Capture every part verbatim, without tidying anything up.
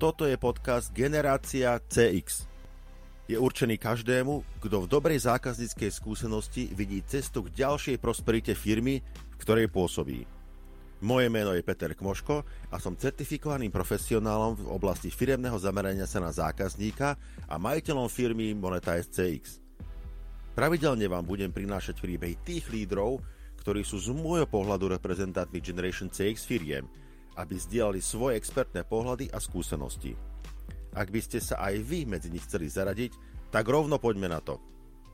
Toto je podcast Generácia cé iks. Je určený každému, kto v dobrej zákazníckej skúsenosti vidí cestu k ďalšej prosperite firmy, v ktorej pôsobí. Moje meno je Peter Kmoško a som certifikovaným profesionálom v oblasti firemného zamerania sa na zákazníka a majiteľom firmy Monetize cé iks. Pravidelne vám budem prinášať príbehy tých lídrov, ktorí sú z môjho pohľadu reprezentantmi Generation cé iks firiem, aby zdieľali svoje expertné pohľady a skúsenosti. Ak by ste sa aj vy medzi nich chceli zaradiť, tak rovno poďme na to.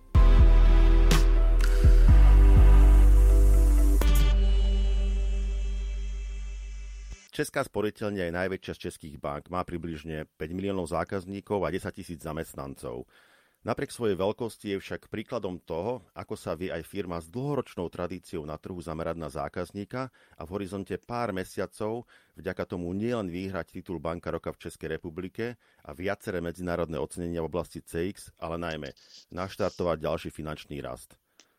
Česká sporiteľňa je najväčšia z českých bank, má približne päť miliónov zákazníkov a desaťtisíc zamestnancov. Napriek svojej veľkosti je však príkladom toho, ako sa vie aj firma s dlhoročnou tradíciou na trhu zamerať na zákazníka a v horizonte pár mesiacov vďaka tomu nielen vyhrať titul Banka roka v Českej republike a viaceré medzinárodné ocenenia v oblasti cé iks, ale najmä naštartovať ďalší finančný rast.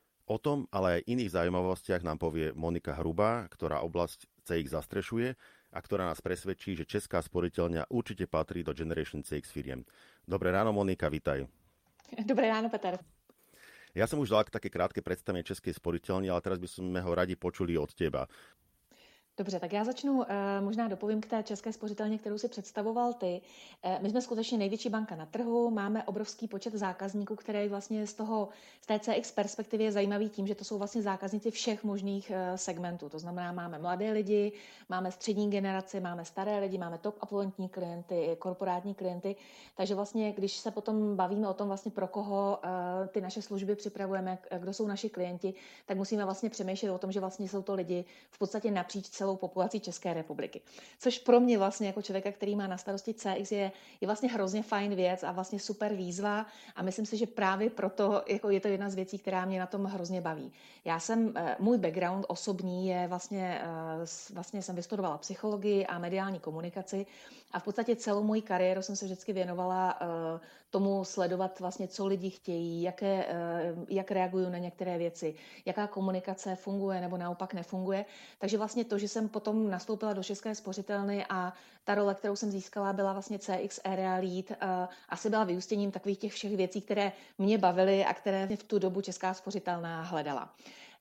O tom, ale aj iných zaujímavostiach nám povie Monika Hrubá, ktorá oblasť cé iks zastrešuje a ktorá nás presvedčí, že Česká sporiteľňa určite patrí do Generation cé iks firiem. Dobré ráno, Monika, vitaj. Dobré ráno, Peter. Ja som už dal také krátke predstavenie Českej sporiteľne, ale teraz by sme ho radi počuli od teba. Dobře, tak já začnu, možná dopovím k té České spořitelně, kterou si představoval ty. My jsme skutečně největší banka na trhu, máme obrovský počet zákazníků, který vlastně z toho, z té cé iks perspektivy je zajímavý tím, že to jsou vlastně zákazníci všech možných segmentů. To znamená, máme mladé lidi, máme střední generaci, máme staré lidi, máme top affluentní klienty, korporátní klienty. Takže vlastně, když se potom bavíme o tom vlastně pro koho ty naše služby připravujeme, kdo jsou naši klienti, tak musíme vlastně přemýšlet o tom, že vlastně jsou to lidi v podstatě napříč celou populací České republiky. Což pro mě vlastně jako člověka, který má na starosti cé iks, je, je vlastně hrozně fajn věc a vlastně super výzva a myslím si, že právě proto jako je to jedna z věcí, která mě na tom hrozně baví. Já jsem, můj background osobní je vlastně, vlastně jsem vystudovala psychologii a mediální komunikaci a v podstatě celou moji kariéru jsem se vždycky věnovala tomu sledovat vlastně, co lidi chtějí, jaké, jak reagují na některé věci, jaká komunikace funguje nebo naopak nefunguje. Takže vlastně to, že jsem potom nastoupila do České spořitelny a ta role, kterou jsem získala, byla vlastně cé iks Area Lead, asi byla vyústěním takových těch všech věcí, které mě bavily a které v tu dobu Česká spořitelná hledala.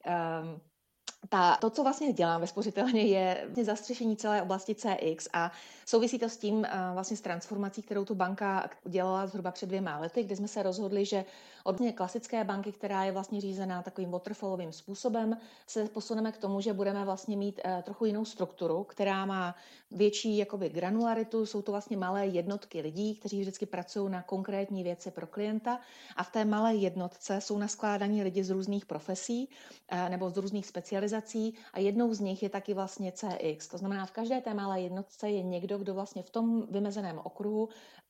Ta, to, co vlastně dělám ve spořitelně, je zastřešení celé oblasti cé iks a souvisí to s tím vlastně s transformací, kterou tu banka dělala zhruba před dvěma lety, kdy jsme se rozhodli, že od klasické banky, která je vlastně řízená takovým waterfallovým způsobem, se posuneme k tomu, že budeme vlastně mít trochu jinou strukturu, která má větší jakoby granularitu, jsou to vlastně malé jednotky lidí, kteří vždycky pracují na konkrétní věci pro klienta a v té malé jednotce jsou naskládaní lidi z různých profesí nebo z různých specializací a jednou z nich je taky vlastně cé iks. To znamená, v každé té malé jednotce je někdo, kdo vlastně v tom vymezeném okruhu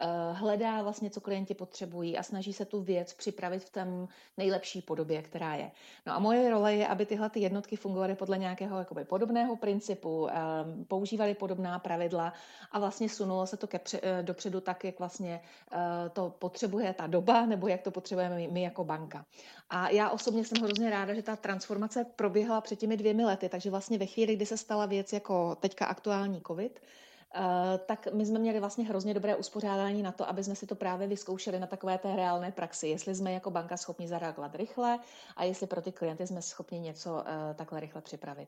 hledá vlastně, co klienti potřebují a snaží se tu věc připravit v té nejlepší podobě, která je. No a moje role je, aby tyhle ty jednotky fungovaly podle nějakého jakoby podobného principu, používaly podobná pravidla a vlastně sunulo se to ke pře- dopředu tak, jak vlastně to potřebuje ta doba, nebo jak to potřebujeme my jako banka. A já osobně jsem hrozně ráda, že ta transformace proběhla před těmi dvěmi lety, takže vlastně ve chvíli, kdy se stala věc jako teďka aktuální covid, Uh, tak my jsme měli vlastně hrozně dobré uspořádání na to, aby jsme si to právě vyzkoušeli na takové té reálné praxi, jestli jsme jako banka schopni zareagovat rychle a jestli pro ty klienty jsme schopni něco uh, takhle rychle připravit.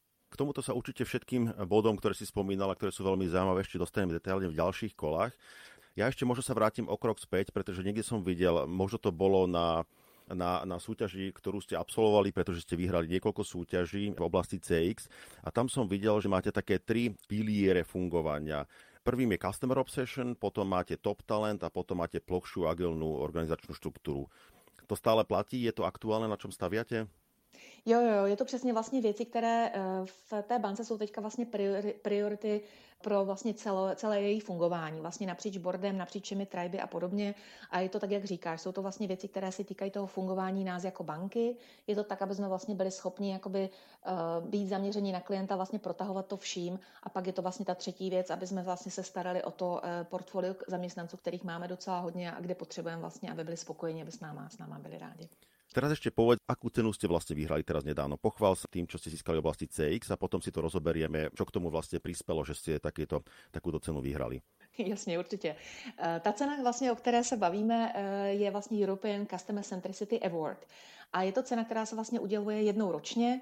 K tomuto sa určite všetkým bodom, ktoré si spomínala, ktoré sú veľmi zaujímavé, ešte dostaneme detailne v ďalších kolách. Ja ešte možno sa vrátim o krok späť, pretože niekde som videl, možno to bolo na Na, na súťaži, ktorú ste absolvovali, pretože ste vyhrali niekoľko súťaží v oblasti cé iks a tam som videl, že máte také tri piliere fungovania. Prvým je Customer Obsession, potom máte Top Talent a potom máte plochšiu agilnú organizačnú štruktúru. To stále platí? Je to aktuálne, na čom staviate? Jo, jo, je to přesně vlastně věci, které v té bance jsou teďka vlastně priority pro vlastně celo, celé její fungování, vlastně napříč boardem, napříč všemi triby a podobně. A je to tak, jak říkáš, jsou to vlastně věci, které se týkají toho fungování nás jako banky. Je to tak, aby jsme vlastně byli schopni jakoby uh, být zaměření na klienta, vlastně protahovat to vším. A pak je to vlastně ta třetí věc, aby jsme vlastně se starali o to uh, portfolio zaměstnanců, kterých máme docela hodně a kde potřebujeme vlastně, aby byli spokojeni, aby s náma, s náma byli rádi. Teraz ešte povedz, akú cenu ste vlastne vyhrali teraz nedávno. Pochvál sa tým, čo ste získali v oblasti cé iks a potom si to rozoberieme, čo k tomu vlastne prispelo, že ste takéto, takúto cenu vyhrali. Jasně, určitě. Ta cena, vlastně, o které se bavíme, je vlastně European Customer Centricity Award. A je to cena, která se vlastně uděluje jednou ročně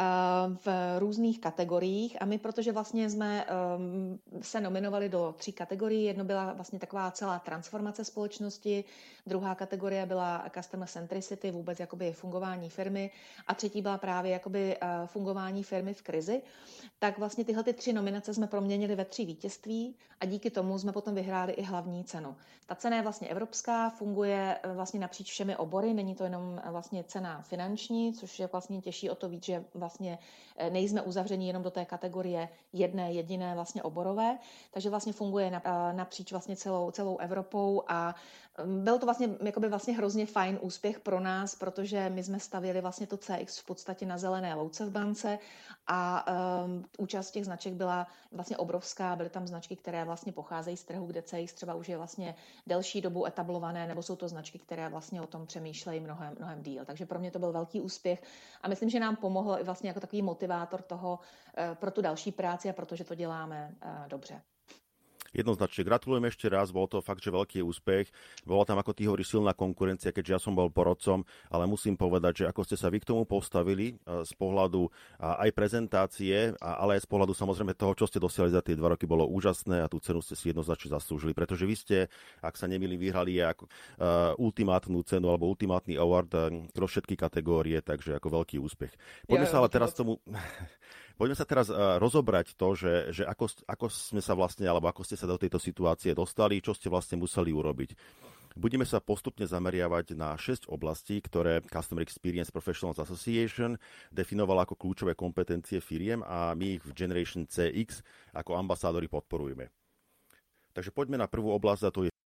v různých kategoriích. A my, protože vlastně jsme se nominovali do tří kategorií, jedno byla vlastně taková celá transformace společnosti, druhá kategorie byla Customer Centricity, vůbec jakoby fungování firmy a třetí byla právě jakoby fungování firmy v krizi. Tak vlastně tyhle ty tři nominace jsme proměnili ve tři vítězství a díky tomu jsme potom vyhráli i hlavní cenu. Ta cena je vlastně evropská, funguje vlastně napříč všemi obory, není to jenom vlastně cena finanční, což je vlastně těžší o to víc, že vlastně nejsme uzavření jenom do té kategorie jedné jediné vlastně oborové, takže vlastně funguje napříč vlastně celou, celou Evropou a byl to vlastně, jakoby vlastně hrozně fajn úspěch pro nás, protože my jsme stavěli vlastně to cé iks v podstatě na zelené louce v bance a um, účast těch značek byla vlastně obrovská, byly tam značky, které vlastně pocházejí z trhu, kde cé iks třeba už je vlastně delší dobu etablované, nebo jsou to značky, které vlastně o tom přemýšlejí mnohem, mnohem díl. Takže pro mě to byl velký úspěch a myslím, že nám pomohlo i vlastně jako takový motivátor toho uh, pro tu další práci a protože to děláme uh, dobře. Jednoznačne gratulujem ešte raz, bol to fakt, že veľký úspech. Bola tam, ako ty hovoríš, silná konkurencia, keďže ja som bol porodcom, ale musím povedať, že ako ste sa vy k tomu postavili z pohľadu aj prezentácie, ale aj z pohľadu samozrejme toho, čo ste dosiahli za tie dva roky, bolo úžasné a tú cenu ste si jednoznačne zaslúžili, pretože vy ste, ak sa nemýlim, vyhrali ako uh, ultimátnu cenu alebo ultimátny award uh, pro všetky kategórie, takže ako veľký úspech. Poďme ja, sa ale teraz tomu... Poďme sa teraz uh, rozobrať to, že, že ako, ako sme sa vlastne, alebo ako ste sa do tejto situácie dostali, čo ste vlastne museli urobiť. Budeme sa postupne zameriavať na šesť oblastí, ktoré Customer Experience Professionals Association definovala ako kľúčové kompetencie firiem a my ich v Generation cé iks ako ambasádori podporujeme. Takže poďme na prvú oblasť a to je...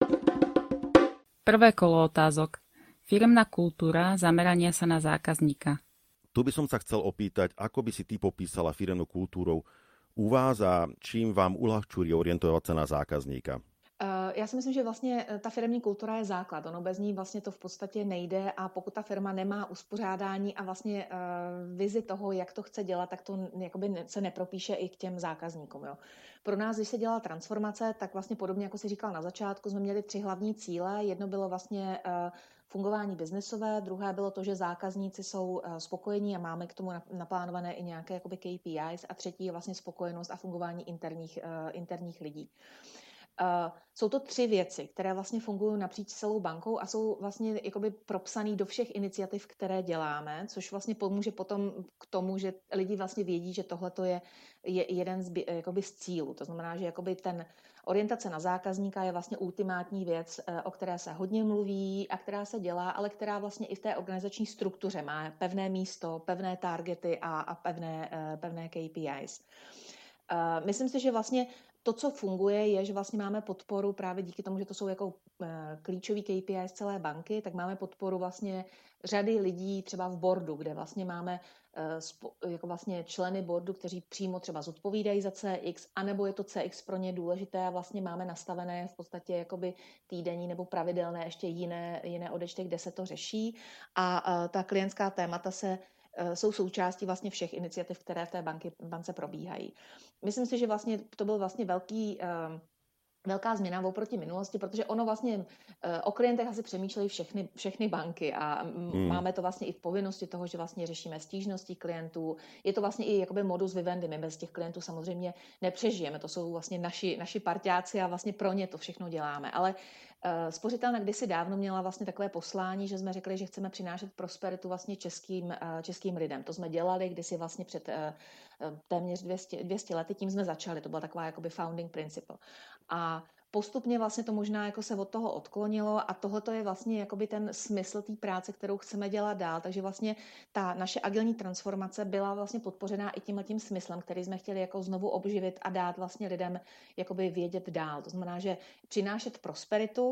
Prvé kolo otázok. Firemná kultúra zamerania sa na zákazníka. Tu by som sa chcel opýtať, ako by si ty popísala firemnú kultúru u vás a čím vám uľahčuje orientovať sa na zákazníka? Já si myslím, že vlastně ta firemní kultura je základ. Ono bez ní vlastně to v podstatě nejde a pokud ta firma nemá uspořádání a vlastně uh, vizi toho, jak to chce dělat, tak to jakoby se nepropíše i k těm zákazníkům. Jo. Pro nás, když se dělala transformace, tak vlastně podobně, jako si říkal na začátku, jsme měli tři hlavní cíle. Jedno bylo vlastně uh, fungování biznesové, druhé bylo to, že zákazníci jsou uh, spokojení a máme k tomu naplánované i nějaké jakoby K P Is a třetí je vlastně spokojenost a fungování interních, uh, interních lidí. Uh, jsou to tři věci, které vlastně fungují napříč celou bankou a jsou vlastně jakoby propsaný do všech iniciativ, které děláme, což vlastně pomůže potom k tomu, že lidi vlastně vědí, že tohle je, je jeden z, jakoby z cílů. To znamená, že jakoby ten orientace na zákazníka je vlastně ultimátní věc, o které se hodně mluví a která se dělá, ale která vlastně i v té organizační struktuře má pevné místo, pevné targety a, a pevné, pevné K P Is. Uh, myslím si, že vlastně to, co funguje, je, že vlastně máme podporu právě díky tomu, že to jsou jako uh, klíčový K P I z celé banky, tak máme podporu vlastně řady lidí třeba v boardu, kde vlastně máme uh, spo, jako vlastně členy boardu, kteří přímo třeba zodpovídají za C X, anebo je to C X pro ně důležité a vlastně máme nastavené v podstatě jakoby týdenní nebo pravidelné ještě jiné, jiné odečty, kde se to řeší a uh, ta klientská témata se jsou součástí vlastně všech iniciativ, které v té banky, bance probíhají. Myslím si, že vlastně to byl vlastně velký, velká změna oproti minulosti, protože ono vlastně o klientech asi přemýšlejí všechny, všechny banky a hmm. máme to vlastně i v povinnosti toho, že vlastně řešíme stížnosti klientů. Je to vlastně i jakoby modus vivendi, my bez těch klientů samozřejmě nepřežijeme, to jsou vlastně naši, naši parťáci a vlastně pro ně to všechno děláme, ale Spořitelna kdysi dávno měla vlastně takové poslání, že jsme řekli, že chceme přinášet prosperitu vlastně českým, českým lidem. To jsme dělali kdysi vlastně před téměř dvě stě lety, tím jsme začali. To byla taková jakoby founding principle. A postupně vlastně to možná jako se od toho odklonilo a tohle je vlastně jakoby ten smysl té práce, kterou chceme dělat dál. Takže vlastně ta naše agilní transformace byla vlastně podpořená i tímhletím smyslem, který jsme chtěli jako znovu obživit a dát vlastně lidem jakoby vědět dál. To znamená, že přinášet prosperitu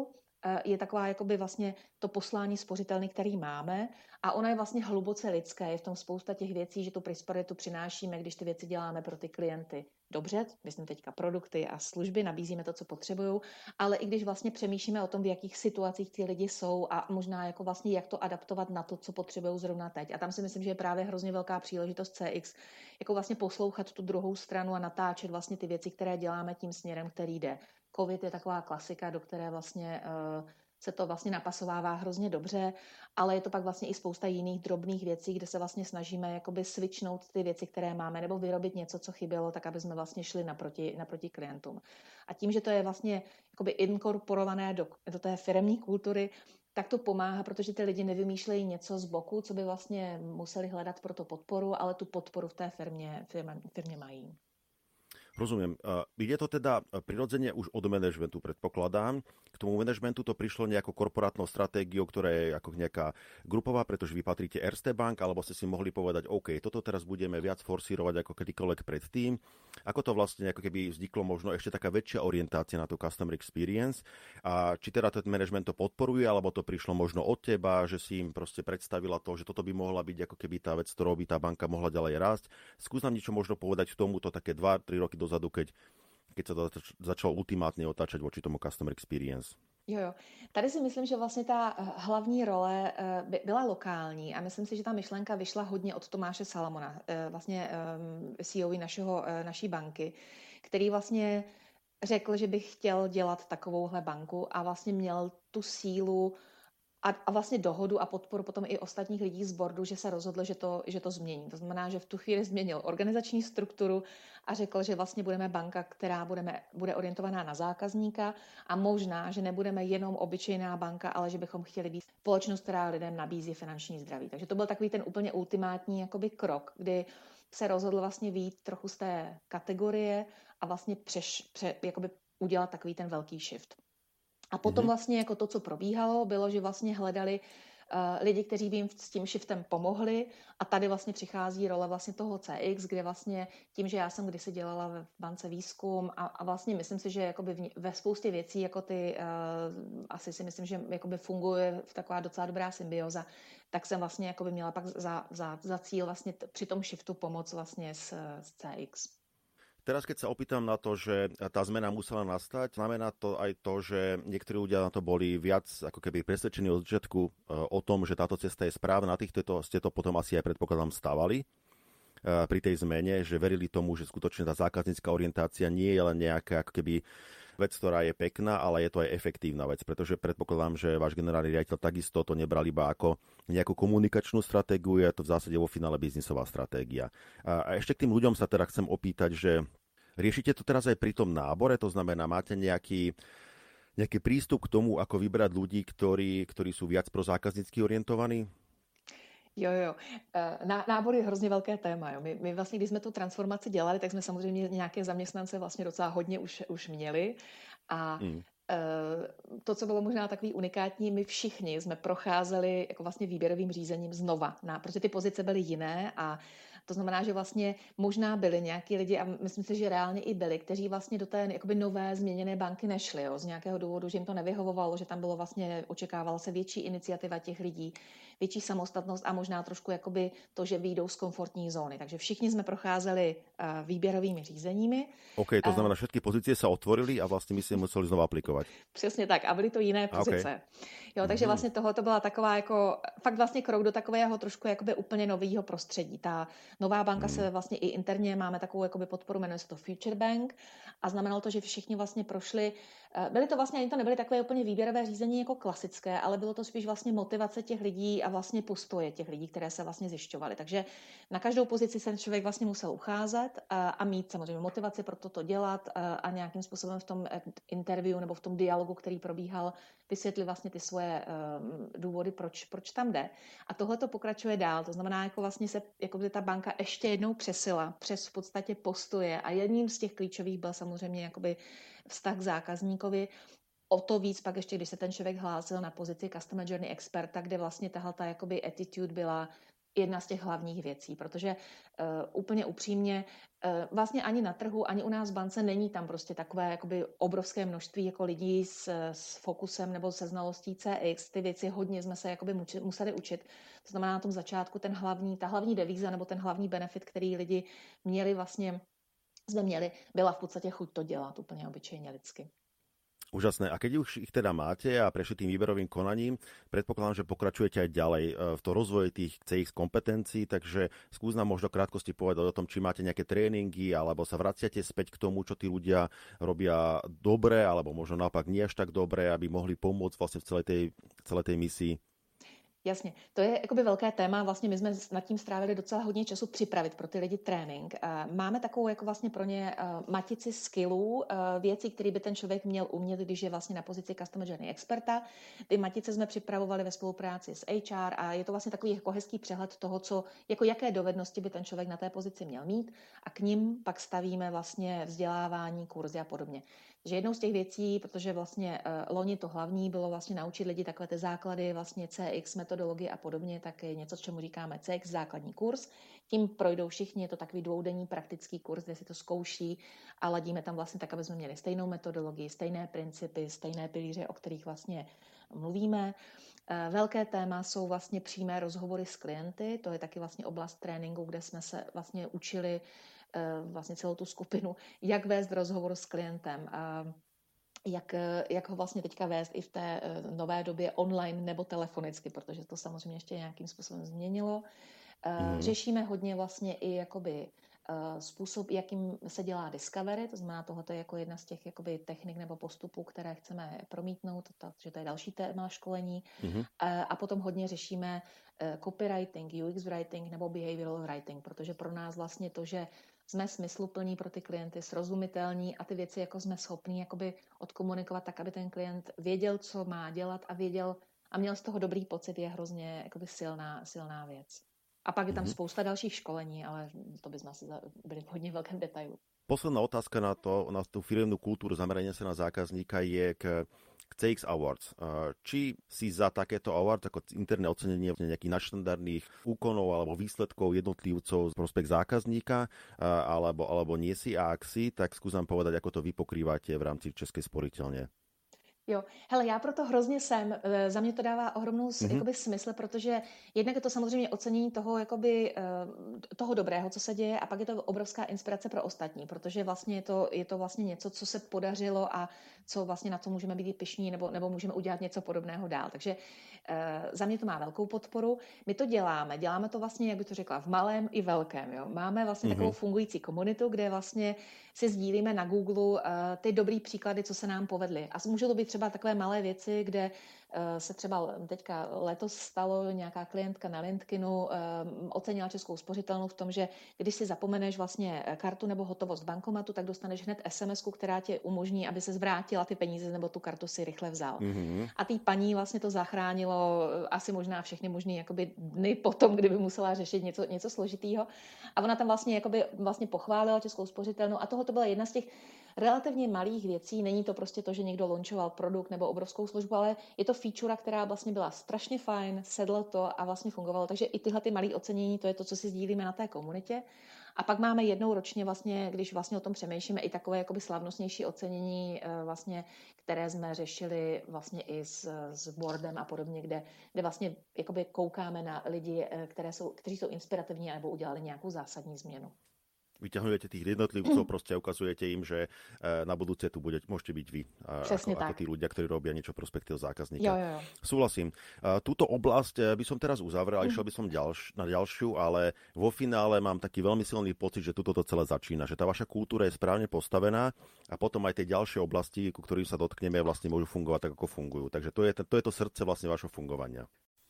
je taková jakoby vlastně to poslání spořitelny, který máme a ona je vlastně hluboce lidské. Je v tom spousta těch věcí, že tu prosperitu přinášíme, když ty věci děláme pro ty klienty dobře, myslím teďka produkty a služby, nabízíme to, co potřebují, ale i když vlastně přemýšlíme o tom, v jakých situacích ty lidi jsou a možná jako vlastně jak to adaptovat na to, co potřebují zrovna teď. A tam si myslím, že je právě hrozně velká příležitost C X, jako vlastně poslouchat tu druhou stranu a natáčet vlastně ty věci, které děláme tím směrem, který jde. Covid je taková klasika, do které vlastně uh, se to vlastně napasovává hrozně dobře, ale je to pak vlastně i spousta jiných drobných věcí, kde se vlastně snažíme jakoby switchnout ty věci, které máme, nebo vyrobit něco, co chybělo, tak aby jsme vlastně šli naproti, naproti klientům. A tím, že to je vlastně jakoby inkorporované do, do té firemní kultury, tak to pomáhá, protože ty lidi nevymýšlejí něco z boku, co by vlastně museli hledat pro to podporu, ale tu podporu v té firmě, firmě, firmě mají. Rozumiem. Ide to teda prirodzene už od manažmentu, predpokladám. K tomu manažmentu to prišlo nejakou korporátnou stratégiou, ktorá je ako nejaká grupová, pretože vy patríte Erste Bank, alebo ste si mohli povedať, OK, toto teraz budeme viac forsírovať ako kedykoľvek predtým. Ako to vlastne ako keby vzniklo možno ešte taká väčšia orientácia na tú customer experience? A či teda ten management to podporuje, alebo to prišlo možno od teba, že si im proste predstavila to, že toto by mohla byť ako keby tá vec, ktorou by tá banka mohla ďalej rásť. Skús nám niečo možno povedať k tomuto také dva tri roky dozadu, keď, keď sa to začalo ultimátne otáčať voči tomu customer experience. Jo, jo. Tady si myslím, že vlastně ta hlavní role byla lokální a myslím si, že ta myšlenka vyšla hodně od Tomáše Salamona, vlastně C E O našeho, naší banky, který vlastně řekl, že by chtěl dělat takovouhle banku a vlastně měl tu sílu a, a vlastně dohodu a podporu potom i ostatních lidí z boardu, že se rozhodl, že to, že to změní. To znamená, že v tu chvíli změnil organizační strukturu a řekl, že vlastně budeme banka, která budeme, bude orientovaná na zákazníka a možná, že nebudeme jenom obyčejná banka, ale že bychom chtěli být společnost, která lidem nabízí finanční zdraví. Takže to byl takový ten úplně ultimátní jakoby krok, kdy se rozhodl vlastně vyjít trochu z té kategorie a vlastně přeš, pře, jakoby udělat takový ten velký shift. A potom vlastně jako to, co probíhalo, bylo, že vlastně hledali uh, lidi, kteří by jim s tím shiftem pomohli a tady vlastně přichází role vlastně toho C X, kde vlastně tím, že já jsem kdysi dělala v bance výzkum a, a vlastně myslím si, že jakoby v, ve spoustě věcí jako ty, uh, asi si myslím, že jakoby funguje v taková docela dobrá symbioza, tak jsem vlastně jakoby měla pak za, za, za cíl vlastně t- při tom shiftu pomoct vlastně s, s C X. Teraz, keď sa opýtam na to, že tá zmena musela nastať, znamená to aj to, že niektorí ľudia na to boli viac ako keby presvedčení od začiatku o tom, že táto cesta je správna. Na týchto ste to potom asi aj predpokladám stávali pri tej zmene, že verili tomu, že skutočne tá zákaznícka orientácia nie je len nejaká ako keby vec, ktorá je pekná, ale je to aj efektívna vec, pretože predpokladám, že váš generálny riaditeľ takisto to nebral iba ako nejakú komunikačnú stratégiu, je to v zásade vo finále biznisová stratégia. A ešte k tým ľuďom sa teda chcem opýtať, že riešite to teraz aj pri tom nábore, to znamená, máte nejaký, nejaký prístup k tomu, ako vybrať ľudí, ktorí, ktorí sú viac prozákaznícky orientovaní? Jo, jo. Ná, nábor je hrozně velké téma. Jo. My, my vlastně, když jsme tu transformaci dělali, tak jsme samozřejmě nějaké zaměstnance vlastně docela hodně už, už měli. A mm. to, co bylo možná takový unikátní, my všichni jsme procházeli jako vlastně výběrovým řízením znova, na, protože ty pozice byly jiné a to znamená, že vlastně možná byli nějaký lidi, a myslím si, že reálně i byli, kteří vlastně do té jakoby nové změněné banky nešli, jo, z nějakého důvodu, že jim to nevyhovovalo, že tam bylo vlastně, očekávala se větší iniciativa těch lidí, větší samostatnost a možná trošku jakoby to, že vyjdou z komfortní zóny. Takže všichni jsme procházeli uh, výběrovými řízeními. OK, to znamená, že všetky pozície sa otvorili a vlastně my si museli znovu aplikovat. Přesně tak, a byly to jiné pozice. Okay. Jo, takže vlastně tohle to byla taková jako, fakt vlastně krok do takového trošku jakoby úplně nového prostředí. Ta nová banka hmm. se vlastně i interně, máme takovou jakoby podporu, jmenuje se to Future Bank a znamenalo to, že všichni vlastně prošli, byly to vlastně, ani to nebyly takové úplně výběrové řízení jako klasické, ale bylo to spíš vlastně motivace těch lidí a vlastně postoje těch lidí, které se vlastně zjišťovaly. Takže na každou pozici se člověk vlastně musel ucházet a, a mít samozřejmě motivaci pro toto dělat a, a nějakým způsobem v tom interview nebo v tom dialogu, který probíhal, vysvětlit vlastně ty svoje um, důvody, proč, proč tam jde. A tohle to pokračuje dál. To znamená, jako vlastně se jako by ta banka ještě jednou přesila přes v podstatě postoje a jedním z těch klíčových byl samozřejmě jakoby vztah k zákazníkovi. O to víc pak ještě, když se ten člověk hlásil na pozici Customer Journey experta, kde vlastně tahle ta jakoby attitude byla jedna z těch hlavních věcí, protože uh, úplně upřímně uh, vlastně ani na trhu, ani u nás v bance není tam prostě takové jakoby obrovské množství jako lidí s, s fokusem nebo se znalostí C X. Ty věci hodně jsme se jakoby muči, museli učit. To znamená na tom začátku ten hlavní, ta hlavní devíza nebo ten hlavní benefit, který lidi měli vlastně, jsme měli, byla v podstatě chuť to dělat úplně obyčejně lidsky. Úžasné. A keď už ich teda máte a prešli tým výberovým konaním, predpokladám, že pokračujete aj ďalej v to rozvoji tých C X kompetencií, takže skús nám možno krátkosti povedať o tom, či máte nejaké tréningy, alebo sa vraciate späť k tomu, čo tí ľudia robia dobre, alebo možno naopak nie až tak dobre, aby mohli pomôcť vlastne v celej tej, celej tej misii. Jasně, to je jakoby velké téma, vlastně my jsme nad tím strávili docela hodně času připravit pro ty lidi trénink. Máme takovou jako vlastně pro ně matici skillů, věcí, které by ten člověk měl umět, když je vlastně na pozici Customer Journey experta. Ty matice jsme připravovali ve spolupráci s H R a je to vlastně takový jako hezký přehled toho, co, jako jaké dovednosti by ten člověk na té pozici měl mít a k nim pak stavíme vlastně vzdělávání, kurzy a podobně. Takže jednou z těch věcí, protože vlastně uh, loni to hlavní bylo vlastně naučit lidi takové ty základy, vlastně C X, metodologie a podobně, tak je něco, čemu říkáme C X, základní kurz. Tím projdou všichni, je to takový dvoudenní praktický kurz, kde si to zkouší a ladíme tam vlastně tak, aby jsme měli stejnou metodologii, stejné principy, stejné pilíře, o kterých vlastně mluvíme. Uh, velké téma jsou vlastně přímé rozhovory s klienty, to je taky vlastně oblast tréninku, kde jsme se vlastně učili vlastně celou tu skupinu, jak vést rozhovor s klientem, jak, jak ho vlastně teďka vést i v té nové době online nebo telefonicky, protože to samozřejmě ještě nějakým způsobem změnilo. Mm. Řešíme hodně vlastně i jakoby způsob, jakým se dělá discovery, to znamená, tohle je jako jedna z těch jakoby technik nebo postupů, které chceme promítnout, takže to je další téma školení. Mm-hmm. A potom hodně řešíme copywriting, U X writing nebo behavioral writing, protože pro nás vlastně to, že jsme smysluplní pro ty klienty, srozumitelní a ty věci jako jsme schopní jakoby odkomunikovat tak, aby ten klient věděl, co má dělat a věděl a měl z toho dobrý pocit, je hrozně jakoby silná, silná věc. A pak je tam mm-hmm. spousta dalších školení, ale to by sme asi byli v hodně velkém detailu. Posledná otázka na to, na tú firemnú kultúru zamerania sa na zákazníka je k, k C X Awards. Či si za takéto awards ako interné ocenenie nejakých nadštandardných úkonov alebo výsledkov jednotlivcov z prospech zákazníka, alebo, alebo nie si, a ak si, tak skúsam povedať, ako to vy pokrývate v rámci Českej sporiteľne. Jo, hele, já proto hrozně jsem, za mě to dává ohromnou mm-hmm. jakoby, smysl, protože jednak je to samozřejmě ocenění toho, jakoby, toho dobrého, co se děje, a pak je to obrovská inspirace pro ostatní, protože vlastně je to, je to vlastně něco, co se podařilo a co vlastně na co můžeme být pyšní nebo, nebo můžeme udělat něco podobného dál. Takže za mě to má velkou podporu. My to děláme, děláme to vlastně, jak by to řekla, v malém i velkém. Jo. Máme vlastně mm-hmm. takovou fungující komunitu, kde vlastně si sdílíme na Google uh, ty dobrý příklady, co se nám povedly. A můžou to být třeba takové malé věci, kde uh, se třeba teďka letos stalo, nějaká klientka na LinkedInu uh, ocenila Českou spořitelnu v tom, že když si zapomeneš vlastně kartu nebo hotovost v bankomatu, tak dostaneš hned es em esku, která ti umožní, aby se zvrátila ty peníze nebo tu kartu si rychle vzal. Mm-hmm. A tý paní vlastně to zachránilo asi možná všechny možný jakoby dny potom, kdyby musela řešit něco, něco složitýho. A ona tam vlastně, jakoby, vlastně pochválila Českou spořitelnu a toho to byla jedna z těch relativně malých věcí. Není to prostě to, že někdo launchoval produkt nebo obrovskou službu, ale je to feature, která vlastně byla strašně fajn, sedlo to a vlastně fungovalo. Takže i tyhle ty malé ocenění, to je to, co si sdílíme na té komunitě. A pak máme jednou ročně, vlastně, když vlastně o tom přemýšlíme, i takové jakoby slavnostnější ocenění, vlastně, které jsme řešili vlastně i s, s boardem a podobně, kde, kde vlastně jakoby koukáme na lidi, které jsou, kteří jsou inspirativní nebo udělali nějakou zásadní změnu. Vyťahujete tých jednotlivcov, proste ukazujete im, že na budúce tu bude, môžete byť vy, ako, ako tí ľudia, ktorí robia niečo prospekt toho zákazníka. Jo, jo, jo. Súhlasím. Túto oblasť by som teraz uzavrel, mm. išiel by som ďalš, na ďalšiu, ale vo finále mám taký veľmi silný pocit, že tuto to celé začína, že tá vaša kultúra je správne postavená a potom aj tie ďalšie oblasti, ku ktorým sa dotkneme, vlastne môžu fungovať tak, ako fungujú. Takže to je to, je to srdce vlastne vašho fungovania.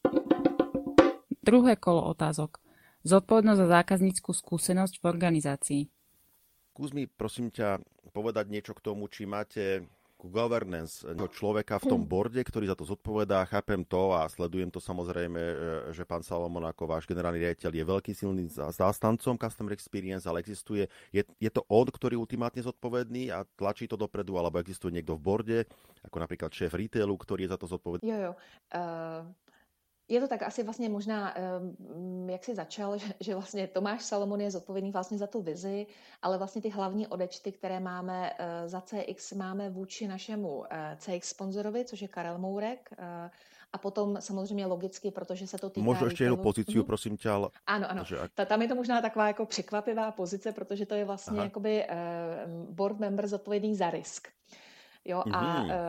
Druhé kolo otázok. Zodpovednosť za zákaznícku skúsenosť v organizácii. Skús mi, prosím ťa, povedať niečo k tomu, či máte governance človeka v tom borde, ktorý za to zodpovedá. Chápem to a sledujem to samozrejme, že pán Salomon ako váš generálny riaditeľ je veľký silný zástancom Customer Experience, ale existuje, je, je to on, ktorý ultimátne zodpovedný a tlačí to dopredu, alebo existuje niekto v borde, ako napríklad šéf retailu, ktorý je za to zodpovedný? Jo, jo. Uh... Je to tak asi vlastně možná, jak jsi začal, že, že vlastně Tomáš Salomon je zodpovědný vlastně za tu vizi, ale vlastně ty hlavní odečty, které máme za C X, máme vůči našemu C X sponzorovi, což je Karel Mourek, a potom samozřejmě logicky, protože se to týká... Možno ještě jednu pozíciu, mm-hmm. prosím tě, ale... Ano, ano. Že... Ta, tam je to možná taková jako překvapivá pozice, protože to je vlastně jakoby uh, board member zodpovědný za risk. Jo, a... Mm-hmm.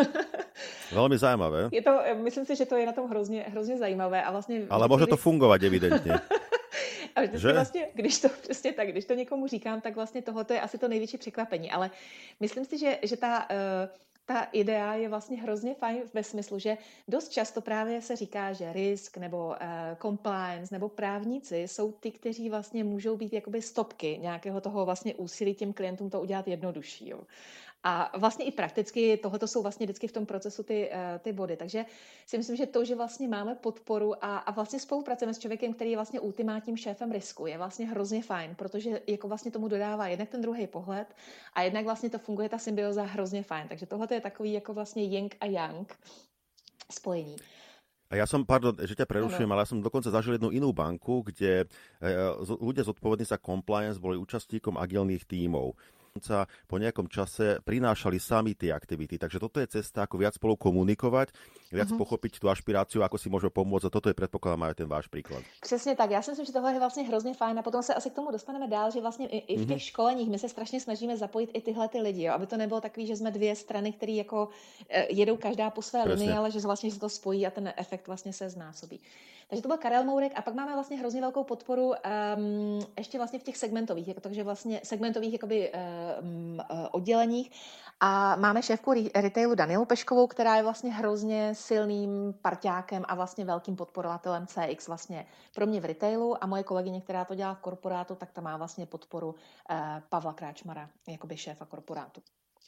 Uh, Velmi zajímavé. Je to, myslím si, že to je na tom hrozně, hrozně zajímavé. A vlastně ale může to fungovat, evidentně. A že? Vlastně, když to přesně tak, když to někomu říkám, tak vlastně tohoto je asi to největší překvapení. Ale myslím si, že, že ta... Uh, Ta idea je vlastně hrozně fajn ve smyslu, že dost často právě se říká, že risk nebo uh, compliance nebo právníci jsou ty, kteří vlastně můžou být jakoby stopky nějakého toho vlastně úsilí těm klientům to udělat jednodušší. Jo. A vlastně i prakticky tohoto jsou vlastně vždycky v tom procesu ty, ty body. Takže si myslím, že to, že vlastně máme podporu a, a vlastně spolupracujeme s člověkem, který je vlastně ultimátním šéfem risku, je vlastně hrozně fajn, protože jako vlastně tomu dodává jednak ten druhý pohled a jednak vlastně to funguje ta symbioza hrozně fajn. Takže tohle je takový jako vlastně yin a yang spojení. A ja som, pardon, že ťa prerušujem, ale ja som dokonca zažil jednu inú banku, kde ľudia zodpovední za compliance boli účastníkom agilných tímov. Po nejakom čase prinášali sami tie aktivity. Takže toto je cesta, ako viac spolu komunikovať, viac uh-huh. pochopiť tú ašpiráciu, ako si môžeme pomôcť. A toto je, predpokladám, aj ten váš príklad. Přesně tak. Já si myslím, že tohle je vlastně hrozně fajn. A potom se asi k tomu dostaneme dál, že vlastně i, i v těch uh-huh. školeních my se strašně snažíme zapojit i tyhle ty lidi, jo? Aby to nebylo takový, že jsme dvě strany, které jako jedou každá po své linii, ale že vlastně se to spojí a ten efekt vlastně se znásobí. Takže to byl Karel Mourek a pak máme vlastně hrozně velkou podporu um, ještě vlastně v těch segmentových, jako, takže vlastně segmentových jakoby um, odděleních a máme šéfku retailu Danielu Peškovou, která je vlastně hrozně silným parťákem a vlastně velkým podporovatelem C X vlastně pro mě v retailu a moje kolegyně, která to dělá v korporátu, tak ta má vlastně podporu uh, Pavla Kráčmara, jakoby šéfa korporátu.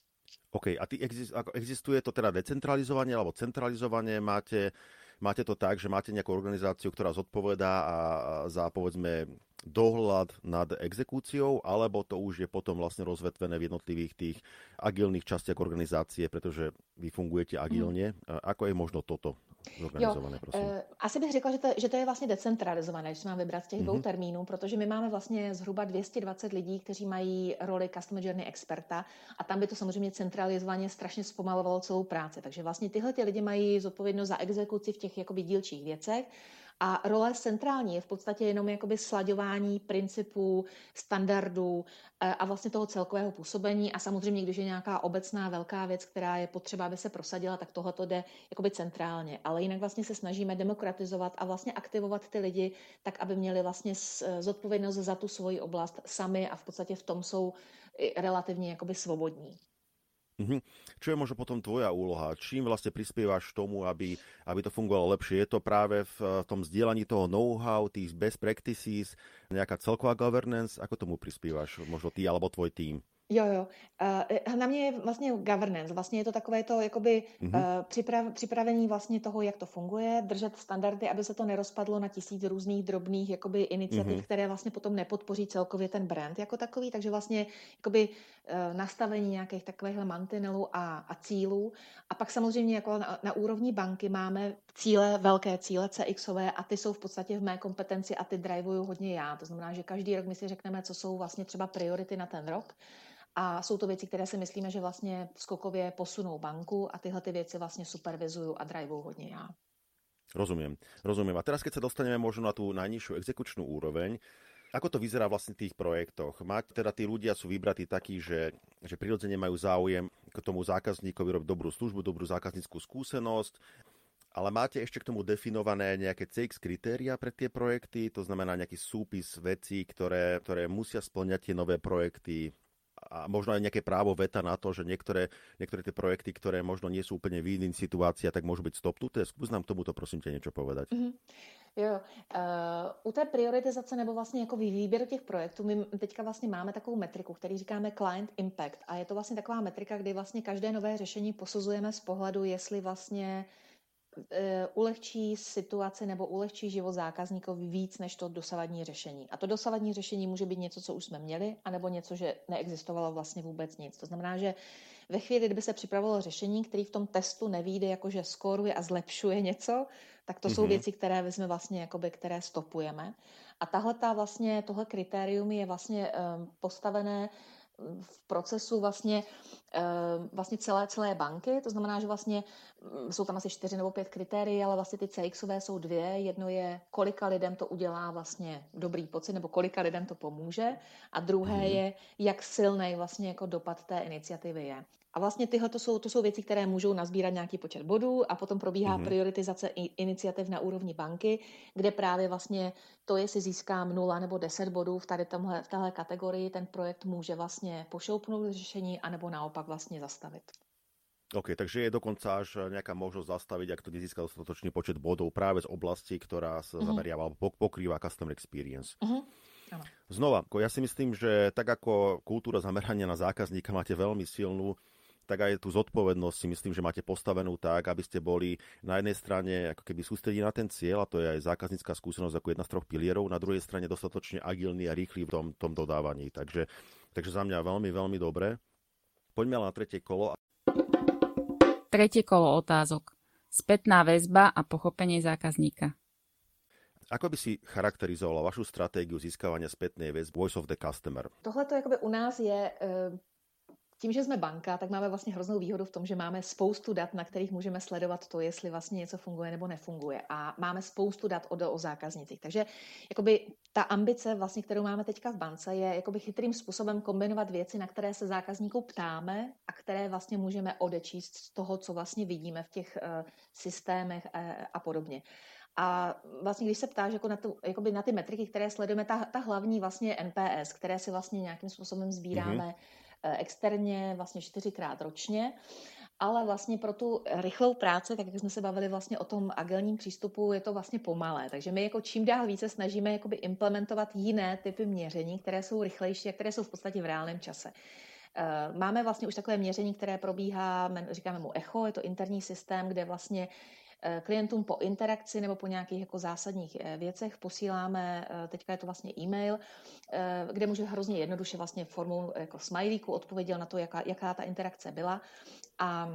OK, a ty existuje to teda decentralizovanie alebo centralizovanie? Máte, máte to tak, že máte nejakú organizáciu, ktorá zodpovedá a za, povedzme, dohľad nad exekúciou, alebo to už je potom vlastne rozvetvené v jednotlivých tých agilných častiach organizácie, pretože vy fungujete agilně. Mm. Ako je možno toto zorganizované, prosím? Jo, e, asi bych řekla, že to, že to je vlastně decentralizované, když mám vybrat z těch mm-hmm. dvou termínů, protože my máme vlastně zhruba dvě stě dvacet lidí, kteří mají roli Customer Journey experta a tam by to samozřejmě centralizovaně strašně zpomalovalo celou práci. Takže vlastně tyhle ty lidi mají zodpovědnost za exekuci v těch jakoby dílčích věcech. A role centrální je v podstatě jenom jakoby slaďování principů, standardů a vlastně toho celkového působení. A samozřejmě, když je nějaká obecná velká věc, která je potřeba, aby se prosadila, tak tohle to jde jakoby centrálně. Ale jinak vlastně se snažíme demokratizovat a vlastně aktivovat ty lidi tak, aby měli vlastně zodpovědnost za tu svoji oblast sami a v podstatě v tom jsou relativně jakoby svobodní. Mm-hmm. Čo je možno potom tvoja úloha? Čím vlastne prispievaš tomu, aby, aby to fungovalo lepšie? Je to práve v tom zdieľaní toho know-how, tých best practices, nejaká celková governance? Ako tomu prispievaš? Možno ty alebo tvoj tým? Jo, jo. Uh, na mě je vlastně governance. Vlastně je to takové to jakoby mm-hmm. uh, připrav, připravení vlastně toho, jak to funguje, držet standardy, aby se to nerozpadlo na tisíc různých drobných jakoby iniciativ, mm-hmm. které vlastně potom nepodpoří celkově ten brand jako takový. Takže vlastně jakoby uh, nastavení nějakých takovýchhle mantinelů a, a cílů. A pak samozřejmě jako na, na úrovni banky máme cíle, velké cíle C Xové a ty jsou v podstatě v mé kompetenci a ty drivuju hodně já. To znamená, že každý rok my si řekneme, co jsou vlastně třeba priority na ten rok. A jsou to věci, které si myslíme, že vlastně skokově posunou banku a tyhle ty věci vlastně supervizuju a drivuju hodně já. Rozumiem, rozumiem. A teraz, keď sa dostaneme možno na tú najnižšiu exekučnú úroveň, ako to vyzerá vlastne v tých projektoch? Máte teda tí ľudia sú vybratí takí, že, že prirodzene majú záujem k tomu zákazníkovi robiť dobrú službu, dobrú zákazníckú skúsenosť, ale máte ešte k tomu definované nejaké C X kritéria pre tie projekty, to znamená nejaký súpis vecí, ktoré, ktoré musia spĺňať tie nové projekty, a možno aj nejaké právo veta na to, že niektoré, niektoré tie projekty, ktoré možno nie sú úplne v iných situáciách, tak môžu byť stopnuté. Skús nám k tomuto, prosím ťa, niečo povedať. Mm-hmm. Jo, uh, u té prioritizace nebo vlastně jako výběru těch projektů, my teďka vlastně máme takovou metriku, který říkáme Client Impact a je to vlastně taková metrika, kdy vlastně každé nové řešení posuzujeme z pohledu, jestli vlastně ulehčí situaci nebo ulehčí život zákazníkovi víc než to dosavadní řešení. A to dosavadní řešení může být něco, co už jsme měli, anebo něco, že neexistovalo vlastně vůbec nic. To znamená, že ve chvíli, kdyby se připravilo řešení, který v tom testu nevyjde, jakože skóruje a zlepšuje něco, tak to mm-hmm. jsou věci, které jsme vlastně, jakoby, které stopujeme. A tahle ta vlastně, tohle kritérium je vlastně um, postavené v procesu vlastně, vlastně celé, celé banky, to znamená, že vlastně jsou tam asi čtyři nebo pět kritérií, ale vlastně ty C Xové jsou dvě. Jedno je, kolika lidem to udělá vlastně dobrý pocit, nebo kolika lidem to pomůže, a druhé je, jak silný vlastně jako dopad té iniciativy je. A vlastně tyhle to jsou, to jsou věci, které můžou nazbírat nějaký počet bodů a potom probíhá mm-hmm. prioritizace iniciativ na úrovni banky, kde právě vlastně to, jestli získám nula nebo deset bodů v tady tomhle, v téhle kategorii, ten projekt může vlastně pošoupnout řešení anebo naopak vlastně zastavit. OK, takže je dokonca až nejaká možnosť zastaviť, ak to nezíska dostatočný počet bodov práve z oblasti, ktorá sa mm-hmm. zameriava alebo pokrýva customer experience. Mm-hmm. Znova, ja si myslím, že tak ako kultúra zamerania na zákazníka máte veľmi silnú, tak aj tú zodpovednosť si myslím, že máte postavenú tak, aby ste boli na jednej strane ako keby sústredí na ten cieľ, a to je aj zákaznícka skúsenosť ako jedna z troch pilierov, na druhej strane dostatočne agilný a rýchly v tom, tom dodávaní. Takže, takže za mňa veľmi, veľmi dobre. Poďme ale na tretie kolo. Tretie kolo otázok. Spätná väzba a pochopenie zákazníka. Ako by si charakterizovala vašu stratégiu získavania spätnej väzby Voice of the Customer? Tohle to jakoby u nás je... Tím, že jsme banka, tak máme vlastně hroznou výhodu v tom, že máme spoustu dat, na kterých můžeme sledovat to, jestli vlastně něco funguje nebo nefunguje. A máme spoustu dat o, o zákaznicích. Takže jakoby ta ambice, vlastně, kterou máme teďka v bance, je jakoby chytrým způsobem kombinovat věci, na které se zákazníků ptáme a které vlastně můžeme odečíst z toho, co vlastně vidíme v těch uh, systémech uh, a podobně. A vlastně, když se ptáš jako na, tu, jakoby na ty metriky, které sledujeme, ta, ta hlavní vlastně N P S, které si vlastně nějakým způsobem sbíráme mm-hmm. externě vlastně čtyřikrát ročně, ale vlastně pro tu rychlou práci, tak jak jsme se bavili vlastně o tom agilním přístupu, je to vlastně pomalé. Takže my jako čím dál více snažíme jakoby implementovat jiné typy měření, které jsou rychlejší a které jsou v podstatě v reálném čase. Máme vlastně už takové měření, které probíhá, říkáme mu Echo, je to interní systém, kde vlastně klientům po interakci nebo po nějakých jako zásadních věcech posíláme, teďka je to vlastně e-mail, kde může hrozně jednoduše vlastně formou jako smajlíku odpověděl na to, jaká, jaká ta interakce byla. A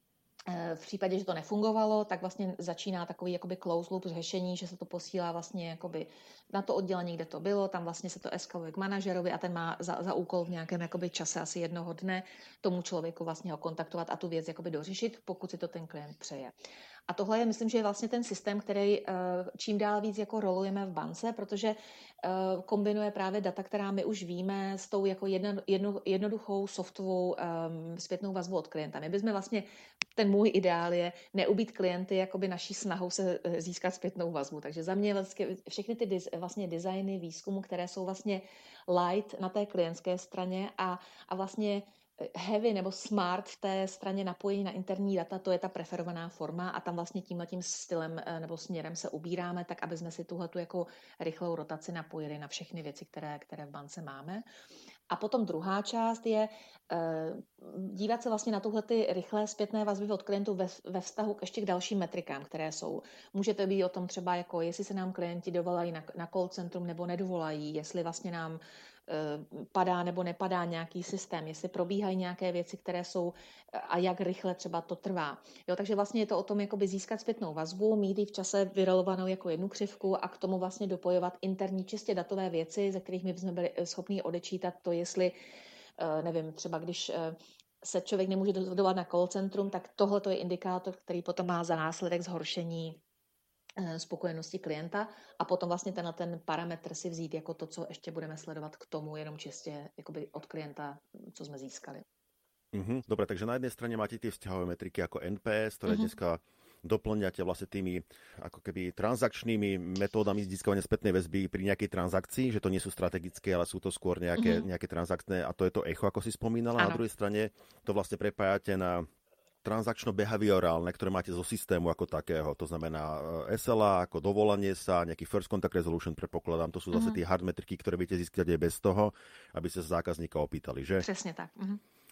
v případě, že to nefungovalo, tak vlastně začíná takový jakoby close loop řešení, že se to posílá vlastně jakoby na to oddělení, kde to bylo, tam vlastně se to eskaluje k manažerovi a ten má za, za úkol v nějakém jakoby čase asi jednoho dne tomu člověku vlastně ho kontaktovat a tu věc jakoby dořešit, pokud si to ten klient přeje. A tohle je, myslím, že je vlastně ten systém, který čím dál víc jako rolujeme v bance, protože kombinuje právě data, která my už víme, s tou jako jedno, jedno, jednoduchou softovou um, zpětnou vazbu od klienta. My bychom vlastně, ten můj ideál je neubít klienty jakoby naší snahou se získat zpětnou vazbu. Takže za mě vlastně všechny ty diz, vlastně designy výzkumu, které jsou vlastně light na té klientské straně a, a vlastně heavy nebo smart v té straně napojení na interní data, to je ta preferovaná forma a tam vlastně tímhletím stylem nebo směrem se ubíráme, tak aby jsme si tuhletu jako rychlou rotaci napojili na všechny věci, které, které v bance máme. A potom druhá část je uh, dívat se vlastně na tuhle ty rychlé zpětné vazby od klientů ve, ve vztahu k ještě k dalším metrikám, které jsou. Může to být o tom třeba, jako jestli se nám klienti dovolají na, na call centrum nebo nedovolají, jestli vlastně nám uh, padá nebo nepadá nějaký systém, jestli probíhají nějaké věci, které jsou a jak rychle třeba to trvá. Jo, takže vlastně je to o tom jakoby získat zpětnou vazbu, mít ji v čase vyrolovanou jako jednu křivku a k tomu vlastně dopojovat interní čistě datové věci, ze kterých my bychom byli schopni odečítat to, jestli, nevím, třeba když se člověk nemůže dovolat na call centrum, tak tohle je indikátor, který potom má za následek zhoršení spokojenosti klienta a potom vlastně tenhle ten parametr si vzít jako to, co ještě budeme sledovat k tomu, jenom čistě jakoby od klienta, co jsme získali. Uh-huh. Dobre, takže na jednej strane máte tie vzťahové metriky ako N P S, ktoré uh-huh. dneska doplňate vlastne tými ako keby transakčnými metódami získavania spätnej väzby pri nejakej transakcii, že to nie sú strategické, ale sú to skôr nejaké, uh-huh. nejaké transakčné a to je to echo, ako si spomínala. Ano. Na druhej strane to vlastne prepájate na transakčno-behaviorálne, ktoré máte zo systému ako takého. To znamená S L A, ako dovolanie sa, nejaký first contact resolution, predpokladám. To sú zase uh-huh. tie hard metriky, ktoré viete získať aj bez toho, aby ste sa zákazníka opýtali, že? Presne tak. Uh-huh.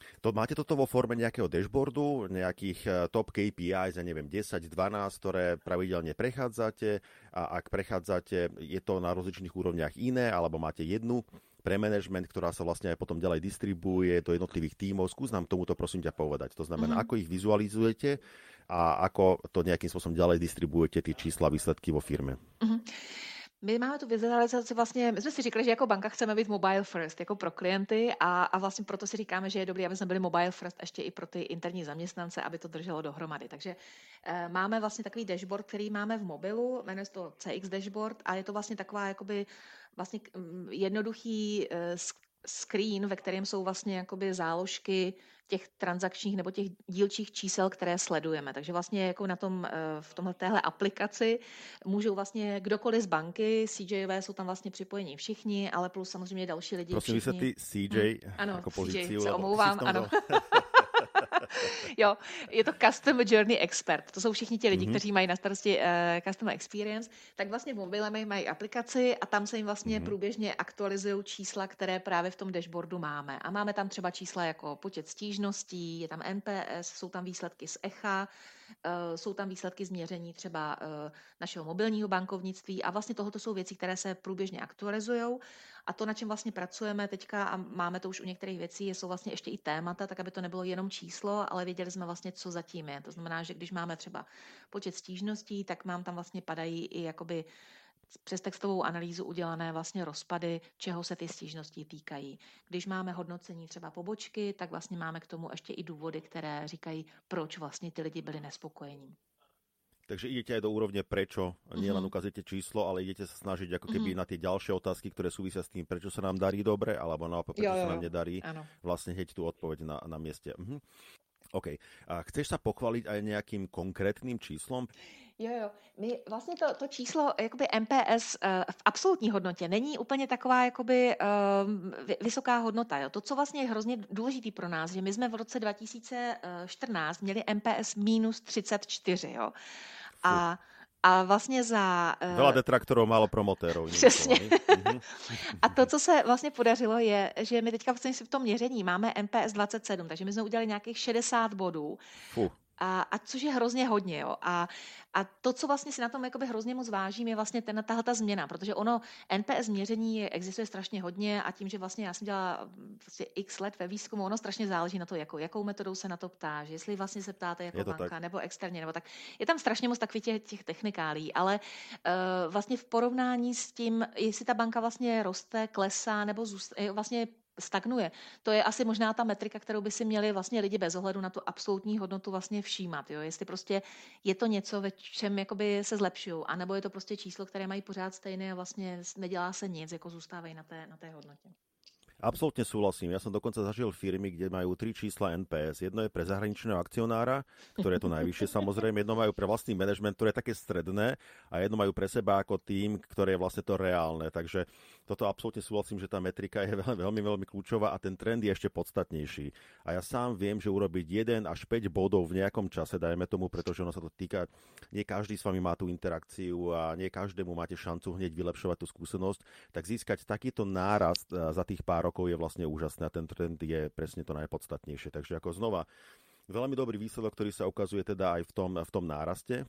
To, máte toto vo forme nejakého dashboardu, nejakých top K P Is, ja neviem, desať, dvanásť, ktoré pravidelne prechádzate a ak prechádzate, je to na rozličných úrovniach iné, alebo máte jednu pre management, ktorá sa vlastne aj potom ďalej distribuuje do jednotlivých tímov. Skús nám tomuto prosím ťa povedať. To znamená, mm-hmm. ako ich vizualizujete a ako to nejakým spôsobom ďalej distribuujete tie čísla, výsledky vo firme. Mm-hmm. My máme tu vizualizaci vlastně, my jsme si říkali, že jako banka chceme být mobile first, jako pro klienty a, a vlastně proto si říkáme, že je dobré, aby jsme byli mobile first ještě i pro ty interní zaměstnance, aby to drželo dohromady. Takže e, máme vlastně takový dashboard, který máme v mobilu, jmenuje se to C X dashboard a je to vlastně taková jakoby vlastně jednoduchý e, screen, ve kterém jsou vlastně jakoby záložky těch transakčních nebo těch dílčích čísel, které sledujeme. Takže vlastně jako na tom, v tomhle téhle aplikaci můžou vlastně kdokoliv z banky, C Jové jsou tam vlastně připojení všichni, ale plus samozřejmě další lidi. Prosím, všichni. vysvětlí C J hmm. ano, jako pozici. C J, se omlouvám, ano. Jo, je to Customer Journey Expert. To jsou všichni ti lidi, mm-hmm. kteří mají na starosti uh, Customer Experience. Tak vlastně v mobile mají aplikaci a tam se jim vlastně mm-hmm. průběžně aktualizují čísla, které právě v tom dashboardu máme. A máme tam třeba čísla jako počet stížností, je tam N P S, jsou tam výsledky z Echa, uh, jsou tam výsledky změření třeba uh, našeho mobilního bankovnictví a vlastně tohoto jsou věci, které se průběžně aktualizují. A to, na čem vlastně pracujeme teďka a máme to už u některých věcí, jsou vlastně ještě i témata, tak aby to nebylo jenom číslo, ale věděli jsme vlastně, co zatím je. To znamená, že když máme třeba počet stížností, tak nám tam vlastně padají i jakoby přes textovou analýzu udělané vlastně rozpady, čeho se ty stížnosti týkají. Když máme hodnocení třeba pobočky, tak vlastně máme k tomu ještě i důvody, které říkají, proč vlastně ty lidi byli nespokojení. Takže idete aj do úrovne prečo, nie len ukazujete číslo, ale idete sa snažiť ako keby mm-hmm. na tie ďalšie otázky, ktoré súvisia s tým, prečo sa nám darí dobre, alebo naopak, prečo jo, jo, sa nám nedarí, ano. Vlastne heď tú odpoveď na, na mieste. Mhm. OK. A chceš sa pochváliť aj nejakým konkrétnym číslom? Jo, jo. My vlastně to, to číslo jakoby M P S uh, v absolutní hodnotě není úplně taková jakoby uh, vysoká hodnota. Jo. To, co vlastně je hrozně důležitý pro nás, že my jsme v roce dva tisíce čtrnáct měli M P S minus třicet čtyři. Jo. A A vlastně za... Uh... Veľa detraktorov, málo promotérov. Přesně. A to, co se vlastně podařilo, je, že my teďka v tom měření máme M P S dvacet sedm, takže my jsme udělali nějakých šedesát bodů. Fuh. A, a což je hrozně hodně. Jo. A, a to, co vlastně si na tom jakoby hrozně moc vážím, je vlastně ten, tahle ta změna, protože ono N P S měření existuje strašně hodně a tím, že vlastně já jsem dělala vlastně x let ve výzkumu, ono strašně záleží na to, jakou, jakou metodou se na to ptáš, jestli vlastně se ptáte jako banka tak. nebo externě, nebo tak. Je tam strašně moc takových těch, těch technikálí, ale uh, vlastně v porovnání s tím, jestli ta banka vlastně roste, klesá nebo zůst, vlastně stagnuje. To je asi možná ta metrika, kterou by si měli vlastně lidi bez ohledu na tu absolutní hodnotu vlastně všímat. Jo? Jestli prostě je to něco, ve čem jakoby se zlepšují, anebo je to prostě číslo, které mají pořád stejné a vlastně nedělá se nic, jako zůstávají na té, na té hodnotě. Absolútne súhlasím. Ja som dokonca zažil firmy, kde majú tri čísla N P S. Jedno je pre zahraničného akcionára, ktoré je to najvyššie samozrejme, jedno majú pre vlastný manažment, ktoré je také stredné a jedno majú pre seba ako tým, ktoré je vlastne to reálne. Takže toto absolútne súhlasím, že tá metrika je veľmi, veľmi, veľmi kľúčová a ten trend je ešte podstatnejší. A ja sám viem, že urobiť jeden až päť bodov v nejakom čase, dajme tomu, pretože ono sa to týka, nie každý s vami má tú interakciu a nie každému máte šancu hneď vylepšovať tú skúsenosť, tak získať takýto nárast za tých pár rokov je vlastne úžasné a ten trend je presne to najpodstatnejšie. Takže ako znova, veľmi dobrý výsledok, ktorý sa ukazuje teda aj v tom, v tom náraste.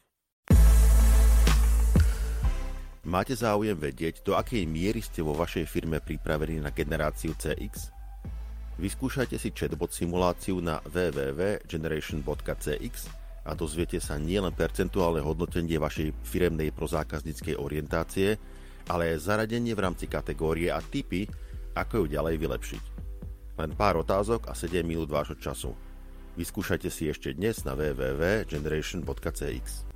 Máte záujem vedieť, do akej miery ste vo vašej firme pripravení na generáciu C X? Vyskúšajte si chatbot simuláciu na w w w bodka generation bodka c x a dozviete sa nielen percentuálne hodnotenie vašej firemnej prozákazníckej orientácie, ale aj zaradenie v rámci kategórie a tipy, ako ju ďalej vylepšiť. Len pár otázok a sedem minút vášho času. Vyskúšajte si ešte dnes na w w w bodka generation bodka c x.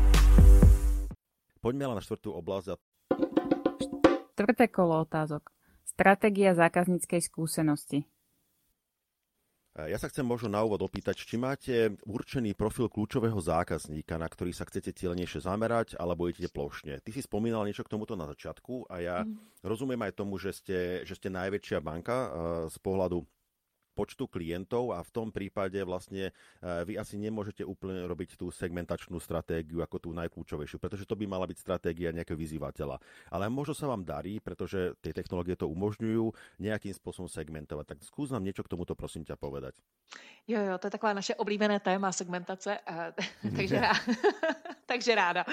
Poďme ale na štvrtú oblasť. Štvrté kolo otázok. Stratégia zákazníckej skúsenosti. Ja sa chcem možno na úvod opýtať, či máte určený profil kľúčového zákazníka, na ktorý sa chcete cieľenejšie zamerať, alebo idete plošne. Ty si spomínal niečo k tomuto na začiatku a ja mm. rozumiem aj tomu, že ste, že ste najväčšia banka z pohľadu počtu klientov a v tom prípade vlastne vy asi nemôžete úplne robiť tú segmentačnú stratégiu ako tú najkľúčovejšiu, pretože to by mala byť stratégia nejakého vyzývateľa. Ale možno sa vám darí, pretože tie technológie to umožňujú nejakým spôsobom segmentovať. Tak skús nám niečo k tomuto, prosím ťa, povedať. Jo, jo, to je takové naše oblíbené téma segmentace, takže, ráda. takže ráda.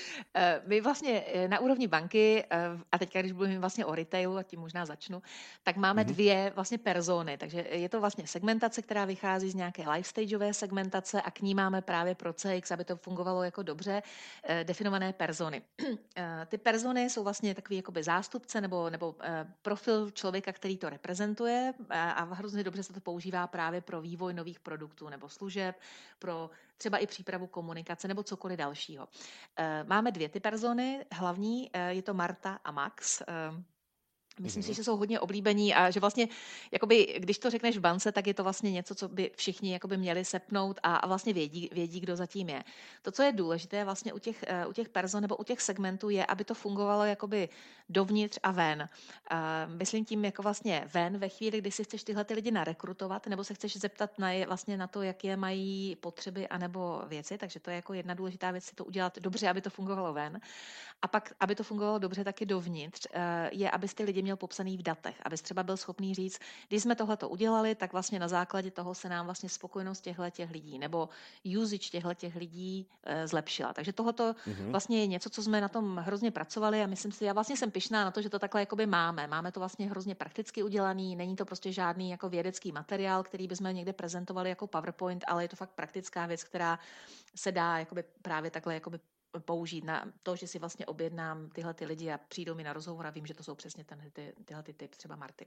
My vlastně na úrovni banky, a teďka, když mluvím vlastně o retailu, a tím možná začnu, tak máme mm-hmm. dvě vlastně persony. Takže je to vlastně segmentace, která vychází z nějaké lifestageové segmentace a k ní máme právě pro C X, aby to fungovalo jako dobře, definované persony. Ty persony jsou vlastně takový jakoby zástupce nebo, nebo profil člověka, který to reprezentuje a hrozně dobře se to používá právě pro vývoj nových produktů nebo služeb, pro třeba i přípravu komunikace nebo cokoliv dalšího. Máme dvě ty persony, hlavní, je to Marta a Max. Myslím mm-hmm. si, že jsou hodně oblíbení a že vlastně, jakoby, když to řekneš v bance, tak je to vlastně něco, co by všichni jakoby měli sepnout a, a vlastně vědí, vědí, kdo zatím je. To, co je důležité vlastně u těch, u těch person nebo u těch segmentů je, aby to fungovalo jakoby dovnitř a ven. A myslím tím jako vlastně ven ve chvíli, kdy si chceš tyhle ty lidi narekrutovat nebo se chceš zeptat na, je, vlastně na to, jaké mají potřeby anebo věci, takže to je jako jedna důležitá věc, si to udělat dobře, aby to fungovalo ven. A pak, aby to fungovalo dobře taky dovnitř, je, aby ty lidi měl popsaný v datech, abys třeba byl schopný říct, když jsme tohleto udělali, tak vlastně na základě toho se nám vlastně spokojenost těchto lidí nebo usage těchto lidí e, zlepšila. Takže tohleto mm-hmm. vlastně je něco, co jsme na tom hrozně pracovali a myslím si, já vlastně jsem pyšná na to, že to takhle jakoby máme. Máme to vlastně hrozně prakticky udělaný, není to prostě žádný jako vědecký materiál, který bychom někde prezentovali jako PowerPoint, ale je to fakt praktická věc, která se dá jakoby právě takhle jakoby použít na to, že si vlastně objednám tyhle ty lidi a přijdou mi na rozhovor a vím, že to jsou přesně ten, ty, tyhle ty typ, třeba Marty.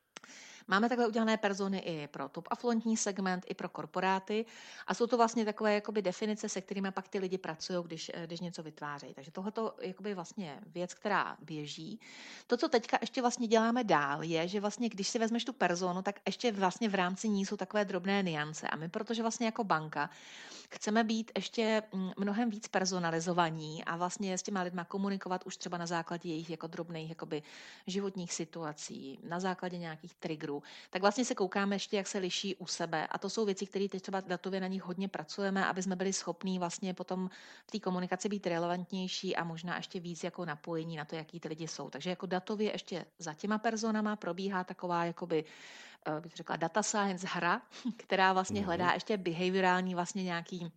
Máme takhle udělané persony i pro top afluentní segment, i pro korporáty a jsou to vlastně takové jakoby definice, se kterými pak ty lidi pracují, když, když něco vytvářejí. Takže tohleto je vlastně věc, která běží. To, co teďka ještě vlastně děláme dál, je, že vlastně, když si vezmeš tu personu, tak ještě vlastně v rámci ní jsou takové drobné niance. A my, protože vlastně jako banka chceme být ještě mnohem víc personalizovaní a vlastně s těma lidma komunikovat už třeba na základě jejich jako drobných jakoby životních situací, na základě nějakých triggerů, tak vlastně se koukáme ještě, jak se liší u sebe. A to jsou věci, které teď třeba datově na nich hodně pracujeme, aby jsme byli schopní vlastně potom v té komunikaci být relevantnější a možná ještě víc jako napojení na to, jaký ty lidi jsou. Takže jako datově ještě za těma personama probíhá taková jakoby bych řekla data science hra, která vlastně hledá ještě behaviorální vlastně nějaký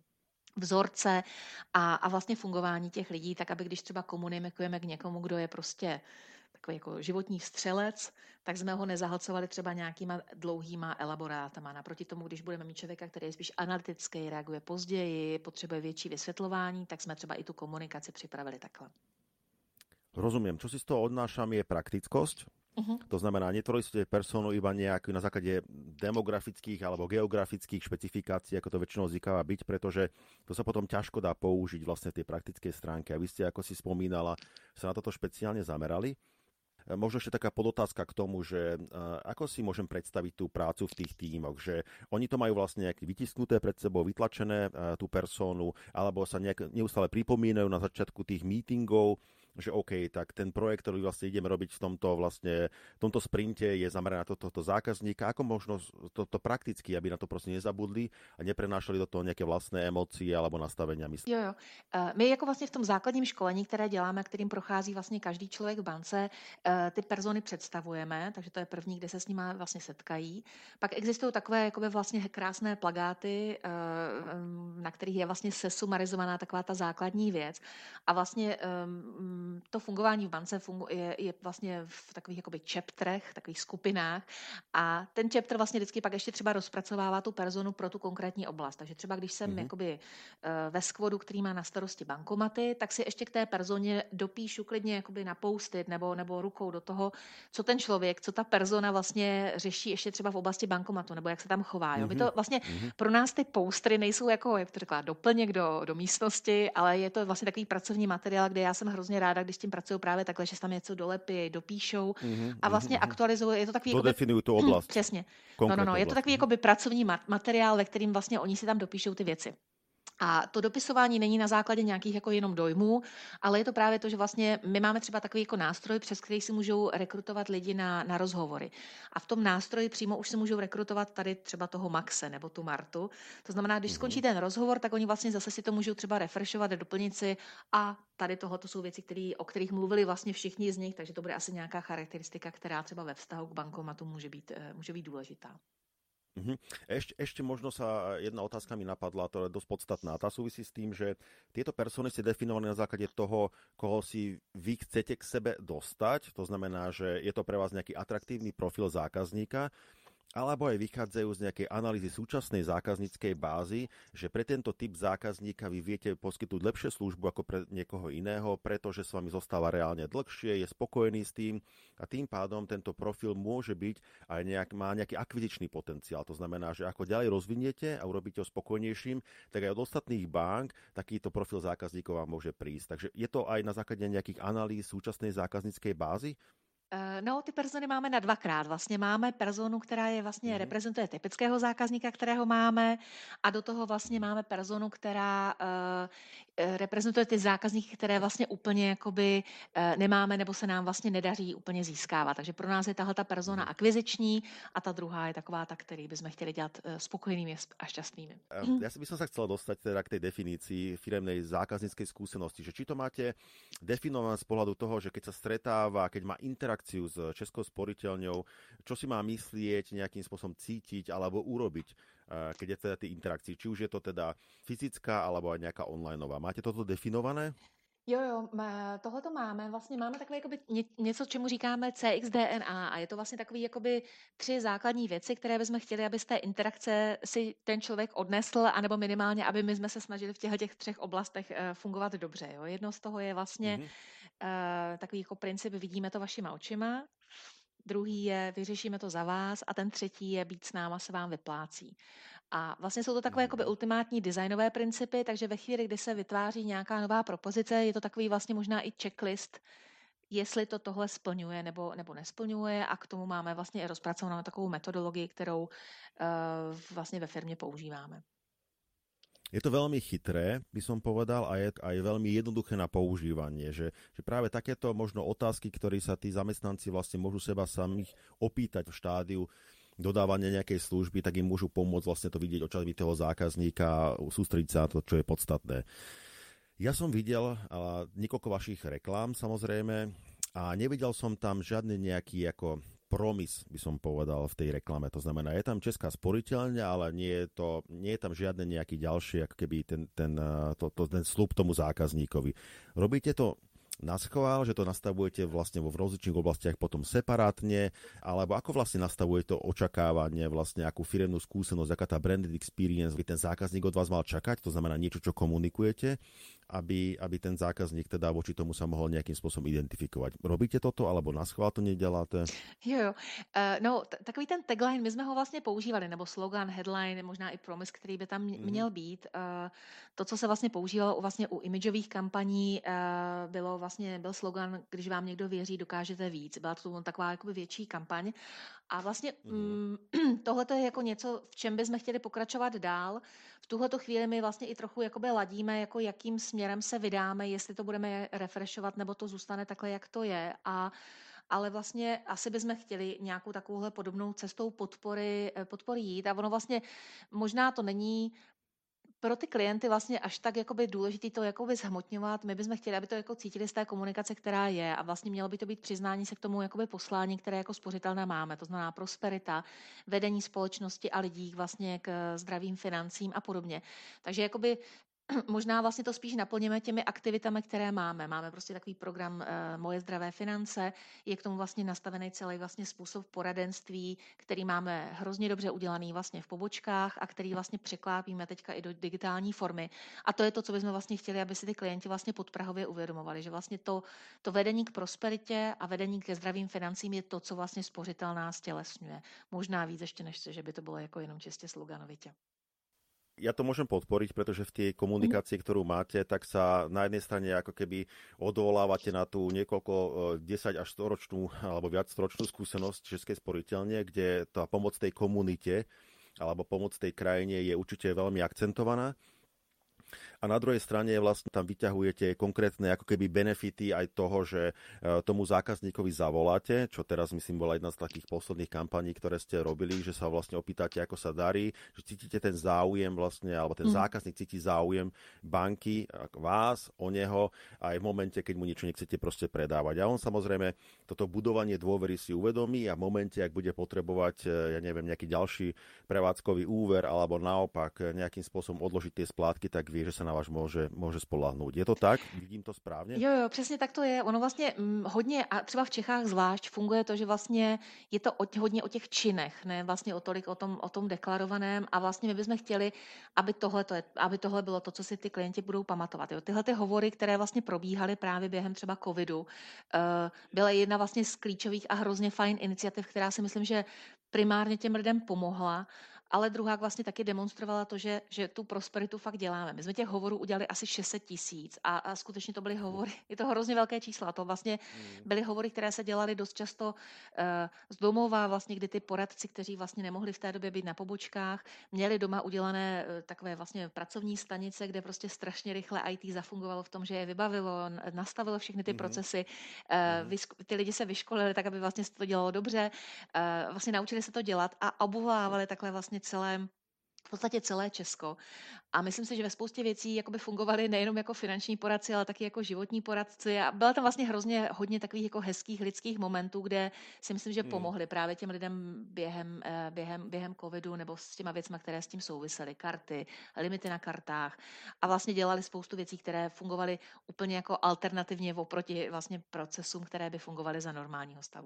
vzorce a, a vlastně fungování těch lidí, tak aby když třeba komunikujeme k někomu, kdo je prostě takový jako životní střelec, tak jsme ho nezahlcovali třeba nějakýma dlouhýma elaborátama. Naproti tomu, když budeme mít člověka, který je spíš analytický, reaguje později, potřebuje větší vysvětlování, tak jsme třeba i tu komunikaci připravili takhle. Rozumiem. Čo si z toho odnášam je praktickosť. Uh-huh. To znamená, netvorili ste personu iba nejakú na základe demografických alebo geografických špecifikácií, ako to väčšinou zvykáva byť, pretože to sa potom ťažko dá použiť vlastne tie praktické stránky. A vy ste, ako si spomínala, sa na toto špeciálne zamerali. Možno ešte taká podotázka k tomu, že uh, ako si môžem predstaviť tú prácu v tých tímoch, že oni to majú vlastne nejaké vytisknuté pred sebou, vytlačené uh, tú personu, alebo sa nejak neustále pripomínajú na začiatku tých meetingov, že OK, tak ten projekt, ktorý vlastne ideme robiť v tomto vlastne, v tomto sprinte je zameraný na tohto to, to zákazníka. Ako možno to, to prakticky, aby na to prostě nezabudli a neprenášali do toho nějaké vlastné emócie alebo nastavenia mysli? Jo, jo. My jako vlastně v tom základním školení, které děláme, kterým prochází vlastně každý člověk v bance, ty persony představujeme, takže to je první, kde se s nimi vlastně setkají. Pak existují takové jakoby vlastně krásné plagáty, na kterých je vlastně sesumarizovaná taková ta základní věc. A vlastně to fungování v bance funguje, je vlastně v takových jakoby chapterech, takových skupinách a ten chapter vlastně vždycky pak ještě třeba rozpracovává tu personu pro tu konkrétní oblast. Takže třeba když jsem mm-hmm. jakoby ve skvodu, který má na starosti bankomaty, tak si ještě k té personě dopíšu klidně jakoby na post-it nebo, nebo rukou do toho, co ten člověk, co ta persona vlastně řeší ještě třeba v oblasti bankomatu nebo jak se tam chová. Jo? My to vlastně mm-hmm. pro nás ty postery nejsou jako, jak to řekla, doplněk do, do místnosti, ale je to vlastně takový pracovní materiál, kde já jsem hrozně ráda, když tím pracují právě takhle, že tam něco dolepí, dopíšou mm-hmm, a vlastně mm-hmm. aktualizují. Je to takový dodefinují tu oblast. Přesně. No, no, no, je to takový jakoby pracovní materiál, ve kterým vlastně oni si tam dopíšou ty věci. A to dopisování není na základě nějakých jako jenom dojmů, ale je to právě to, že vlastně my máme třeba takový jako nástroj, přes který si můžou rekrutovat lidi na, na rozhovory. A v tom nástroji přímo už si můžou rekrutovat tady třeba toho Maxe nebo tu Martu. To znamená, když skončí ten rozhovor, tak oni vlastně zase si to můžou třeba refreshovat, doplnit si a tady tohle to jsou věci, který, o kterých mluvili vlastně všichni z nich, takže to bude asi nějaká charakteristika, která třeba ve vztahu k bankomatu může být, může být důležitá. Uh-huh. Ešte, ešte možno sa jedna otázka mi napadla, to je dosť podstatná. Tá súvisí s tým, že tieto persony ste definovali na základe toho, koho si vy chcete k sebe dostať. To znamená, že je to pre vás nejaký atraktívny profil zákazníka, alebo aj vychádzajú z nejakej analýzy súčasnej zákazníckej bázy, že pre tento typ zákazníka vy viete poskytnúť lepšie službu ako pre niekoho iného, pretože s vami zostáva reálne dlhšie, je spokojný s tým a tým pádom tento profil môže byť aj nejak, má nejaký akvizičný potenciál. To znamená, že ako ďalej rozviniete a urobíte ho spokojnejším, tak aj od ostatných bank takýto profil zákazníkov vám môže prísť. Takže je to aj na základe nejakých analýz súčasnej zákazníckej bázy? No, ty persony máme na dvakrát. Vlastně máme personu, která je vlastně mm. reprezentuje typického zákazníka, kterého máme, a do toho vlastně máme personu, která uh, reprezentuje ty zákazníky, které vlastně úplně jakoby uh, nemáme nebo se nám vlastně nedaří úplně získávat. Takže pro nás je tahle ta persona akviziční a ta druhá je taková ta, který bychom chtěli dělat uh, spokojenými a šťastnými. Ja by som sa chcel dostať teda k tej definícii firemnej zákazníckej skúsenosti, že či to máte definované z pohľadu toho, že keď sa stretáva, keď má interakciu s Českou sporiteľňou, čo si má myslieť, nejakým spôsobom cítiť alebo urobiť, keď je teda tej interakcii. Či už je to teda fyzická alebo aj nejaká onlineová. Máte toto definované? Jo, jo, tohle to máme. Vlastně máme takové jakoby něco, čemu říkáme C X D N A a je to vlastně takový jakoby tři základní věci, které bychom chtěli, aby z té interakce si ten člověk odnesl, anebo minimálně, aby my jsme se snažili v těchto těch třech oblastech fungovat dobře. Jo. Jedno z toho je vlastně mm-hmm. uh, takový jako princip vidíme to vašima očima, druhý je vyřešíme to za vás a ten třetí je být s náma se vám vyplácí. A vlastně jsou to takové jakoby ultimátní designové principy, takže ve chvíli, kdy se vytváří nějaká nová propozice, je to takový vlastně možná i checklist, jestli to tohle splňuje nebo, nebo nesplňuje, a k tomu máme vlastně i rozpracovanou takovou metodologii, kterou uh, vlastně ve firmě používáme. Je to veľmi chytré, by som povedal, a je aj veľmi jednoduché na používanie, že, že práve takéto možno otázky, ktoré sa tí zamestnanci vlastne môžu seba samých opýtať v štádiu dodávania nejakej služby, tak im môžu pomôcť vlastne to vidieť očami toho zákazníka a sústrediť sa na to, čo je podstatné. Ja som videl ale, niekoľko vašich reklám, samozrejme, a nevidel som tam žiadny nejaký ako promis, by som povedal, v tej reklame. To znamená, je tam Česká sporiteľňa, ale nie je, to, nie je tam žiadne nejaký ďalší, ako keby ten, ten, to, to, ten sľub tomu zákazníkovi. Robíte to na schvál, že to nastavujete vlastne vo rozličných oblastiach potom separátne, alebo ako vlastne nastavujete to očakávanie, vlastne akú firemnú skúsenosť, aká tá branded experience by ten zákazník od vás mal čakať, to znamená niečo, čo komunikujete, aby, aby ten zákazník teda voči tomu sa mohol nejakým spôsobom identifikovať. Robíte toto, alebo na schvál to neděláte? Jo, jo. Uh, no, t- takový ten tagline, my jsme ho vlastně používali, nebo slogan, headline, možná i promise, který by tam měl být. Uh, to, co se vlastně používalo u, vlastně u imageových kampaní, uh, bylo vlastně, byl slogan, když vám někdo věří, dokážete víc. Byla to taková jakoby větší kampaň. A vlastně mm. tohle je jako něco, v čem bychom chtěli pokračovat dál. V tuhleto chvíli my vlastně i trochu jakoby ladíme, jako jakým směrem se vydáme, jestli to budeme refreshovat, nebo to zůstane takhle, jak to je. A ale vlastně asi bychom chtěli nějakou takovouhle podobnou cestou podpory, podpory jít. A ono vlastně možná to není pro ty klienty vlastně až tak jakoby důležitý to jakoby zhmotňovat. My bychom chtěli, aby to jako cítili z té komunikace, která je, a vlastně mělo by to být přiznání se k tomu jakoby poslání, které jako spořitelné máme. To znamená prosperita, vedení společnosti a lidí vlastně k zdravým financím a podobně. Takže jakoby možná vlastně to spíš naplníme těmi aktivitami, které máme. Máme prostě takový program uh, Moje zdravé finance, je k tomu vlastně nastavený celý vlastně způsob poradenství, který máme hrozně dobře udělaný vlastně v pobočkách a který vlastně překlápíme teďka i do digitální formy. A to je to, co bychom vlastně chtěli, aby si ty klienti vlastně podprahově uvědomovali, že vlastně to, to vedení k prosperitě a vedení ke zdravým financím je to, co vlastně spořitelná stělesňuje. Možná víc ještě, než že by to bylo jako jenom čistě sloganovitě. Ja to môžem podporiť, pretože v tej komunikácii, ktorú máte, tak sa na jednej strane ako keby odvolávate na tú niekoľko desať až sto ročnú alebo viac storočnú skúsenosť Českej sporiteľne, kde tá pomoc tej komunite alebo pomoc tej krajine je určite veľmi akcentovaná. A na druhej strane vlastne tam vyťahujete konkrétne ako keby benefity aj toho, že tomu zákazníkovi zavoláte, čo teraz myslím bola jedna z takých posledných kampaní, ktoré ste robili, že sa vlastne opýtate, ako sa darí, že cítite ten záujem vlastne, alebo ten mm. zákazník cíti záujem banky, vás, o neho, aj v momente, keď mu niečo nechcete proste predávať. A on samozrejme toto budovanie dôvery si uvedomí a v momente, ak bude potrebovať, ja neviem, nejaký ďalší prevádzkový úver alebo naopak nejakým spôsobom odložiť tie splátky, tak vie, že sa na vás môže, môže spoľahnúť. Je to tak? Vidím to správně? Jo, jo, přesně tak to je. Ono vlastně hm, hodně, a třeba v Čechách zvlášť, funguje to, že vlastně je to o, hodně o těch činech, ne vlastně o tolik o tom, o tom deklarovaném a vlastně my bychom chtěli, aby tohle, to je, aby tohle bylo to, co si ty klienti budou pamatovat. Jo. Tyhle ty hovory, které vlastně probíhaly právě během třeba covidu, uh, byla jedna vlastně z klíčových a hrozně fajn iniciativ, která si myslím, že primárně těm lidem pomohla, ale druhá vlastně taky demonstrovala to, že, že tu prosperitu fakt děláme. My jsme těch hovorů udělali asi šest set tisíc a, a skutečně to byly hovory, je to hrozně velké čísla, to vlastně byly hovory, které se dělaly dost často uh, z domova, vlastně, kdy ty poradci, kteří vlastně nemohli v té době být na pobočkách, měli doma udělané uh, takové vlastně pracovní stanice, kde prostě strašně rychle í té zafungovalo v tom, že je vybavilo, nastavilo všechny ty mm-hmm. procesy, uh, mm-hmm. vysk- ty lidi se vyškolili tak, aby vlastně to dělalo dobře, uh, vlastně naučili se to dělat a obvolávali takhle vlastně celé, v podstatě celé Česko. A myslím si, že ve spoustě věcí jakoby fungovaly nejenom jako finanční poradci, ale taky jako životní poradci. A byla tam vlastně hrozně hodně takových jako hezkých lidských momentů, kde si myslím, že pomohli právě těm lidem během, během, během covidu nebo s těma věcma, které s tím souvisely. Karty, limity na kartách. A vlastně dělali spoustu věcí, které fungovaly úplně jako alternativně oproti vlastně procesům, které by fungovaly za normálního stavu.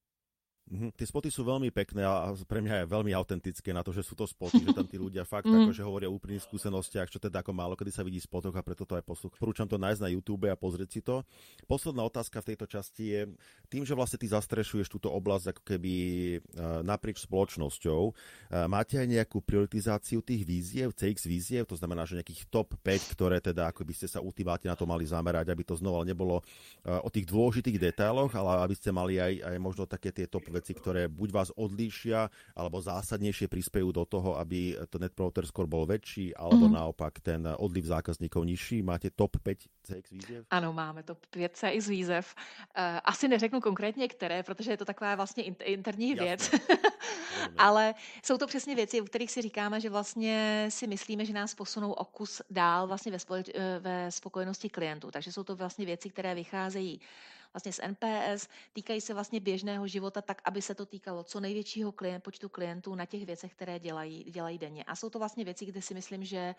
Mm-hmm. Tie spoty sú veľmi pekné a pre mňa je veľmi autentické na to, že sú to spoty, že tam tí ľudia fakt mm. akože hovoria o úplných skúsenostiach, čo teda ako málo kedy sa vidí v spotoch a preto to aj poslúcham. Porúčam to nájsť na YouTube a pozrieť si to. Posledná otázka v tejto časti je, tým, že vlastne ty zastrešuješ túto oblasť ako keby naprieč spoločnosťou, máte aj nejakú prioritizáciu tých víziev, cé iks víziev, to znamená, že nejakých top päť, ktoré teda ako by ste sa ultimátne na to mali zamerať, aby to znova nebolo o tých dôležitých detailoch, ale aby ste mali aj, aj možno také tie top veci, ktoré buď vás odlíšia, alebo zásadnejšie prispejú do toho, aby to Net Promoter Score bol väčší, alebo mm-hmm. naopak ten odliv zákazníkov nižší. Máte top päť cé iks výzev? Ano, máme top pět cé iks výzev. Uh, asi neřeknu konkrétně které, protože je to taková vlastně interní věc. Ale jsou to přesně věci, u kterých si říkáme, že vlastně si myslíme, že nás posunou o kus dál vlastně ve, společ- ve spokojenosti klientů. Takže jsou to vlastně věci, které vycházejí vlastně z en pé es, týkají se vlastně běžného života tak, aby se to týkalo co největšího klient, počtu klientů na těch věcech, které dělají, dělají denně. A jsou to vlastně věci, kde si myslím, že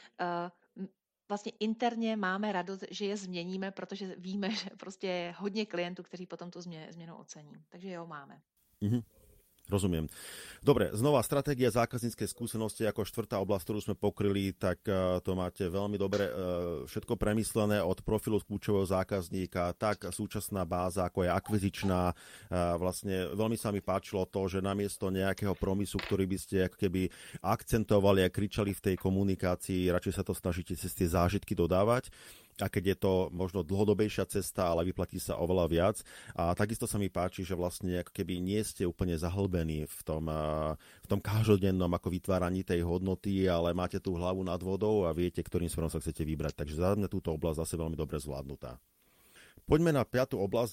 uh, vlastně interně máme radost, že je změníme, protože víme, že prostě je hodně klientů, kteří potom tu změnu ocení. Takže jo, máme. Mm-hmm. Rozumiem. Dobre, znova stratégia zákazníckej skúsenosti ako štvrtá oblasť, ktorú sme pokryli, tak uh, to máte veľmi dobre uh, všetko premyslené od profilu kľúčového zákazníka, tak súčasná báza, ako je akvizičná. Uh, vlastne veľmi sa mi páčilo to, že namiesto nejakého promisu, ktorý by ste ako keby akcentovali a kričali v tej komunikácii, radšej sa to snažíte cez tie zážitky dodávať. A keď je to možno dlhodobejšia cesta, ale vyplatí sa oveľa viac. A takisto sa mi páči, že vlastne ako keby nie ste úplne zahlbení v tom, v tom každodennom ako vytváraní tej hodnoty, ale máte tú hlavu nad vodou a viete, ktorým smerom sa chcete vybrať. Takže za mňa túto oblasť zase veľmi dobre zvládnutá. Poďme na piatu oblasť.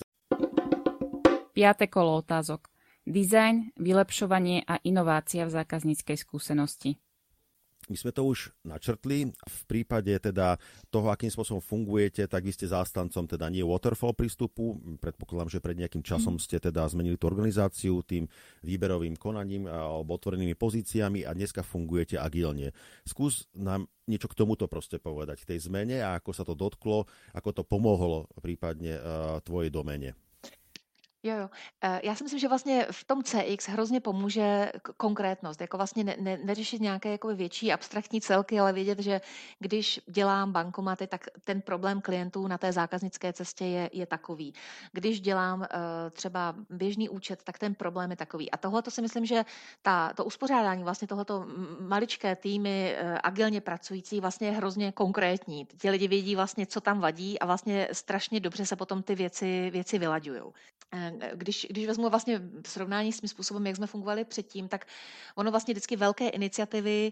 Piate kolo otázok. Dizajn, vylepšovanie a inovácia v zákazníckej skúsenosti. My sme to už načrtli. V prípade teda toho, akým spôsobom fungujete, tak vy ste zástancom teda nie waterfall prístupu. Predpokladám, že pred nejakým časom ste teda zmenili tú organizáciu tým výberovým konaním alebo otvorenými pozíciami a dneska fungujete agilne. Skús nám niečo k tomuto proste povedať, k tej zmene a ako sa to dotklo, ako to pomohlo prípadne uh, tvojej domene. Jo, jo. Já si myslím, že vlastně v tom cé iks hrozně pomůže konkrétnost, jako vlastně ne, ne, neřešit nějaké jakoby větší abstraktní celky, ale vědět, že když dělám bankomaty, tak ten problém klientů na té zákaznické cestě je, je takový. Když dělám uh, třeba běžný účet, tak ten problém je takový. A tohle to si myslím, že ta, to uspořádání, vlastně tohleto maličké týmy uh, agilně pracující vlastně je hrozně konkrétní. Ti lidi vědí vlastně, co tam vadí a vlastně strašně dobře se potom ty věci, věci vylaďujou. Když, když vezmu vlastně v srovnání s tím způsobem, jak jsme fungovali předtím, tak ono vlastně vždycky velké iniciativy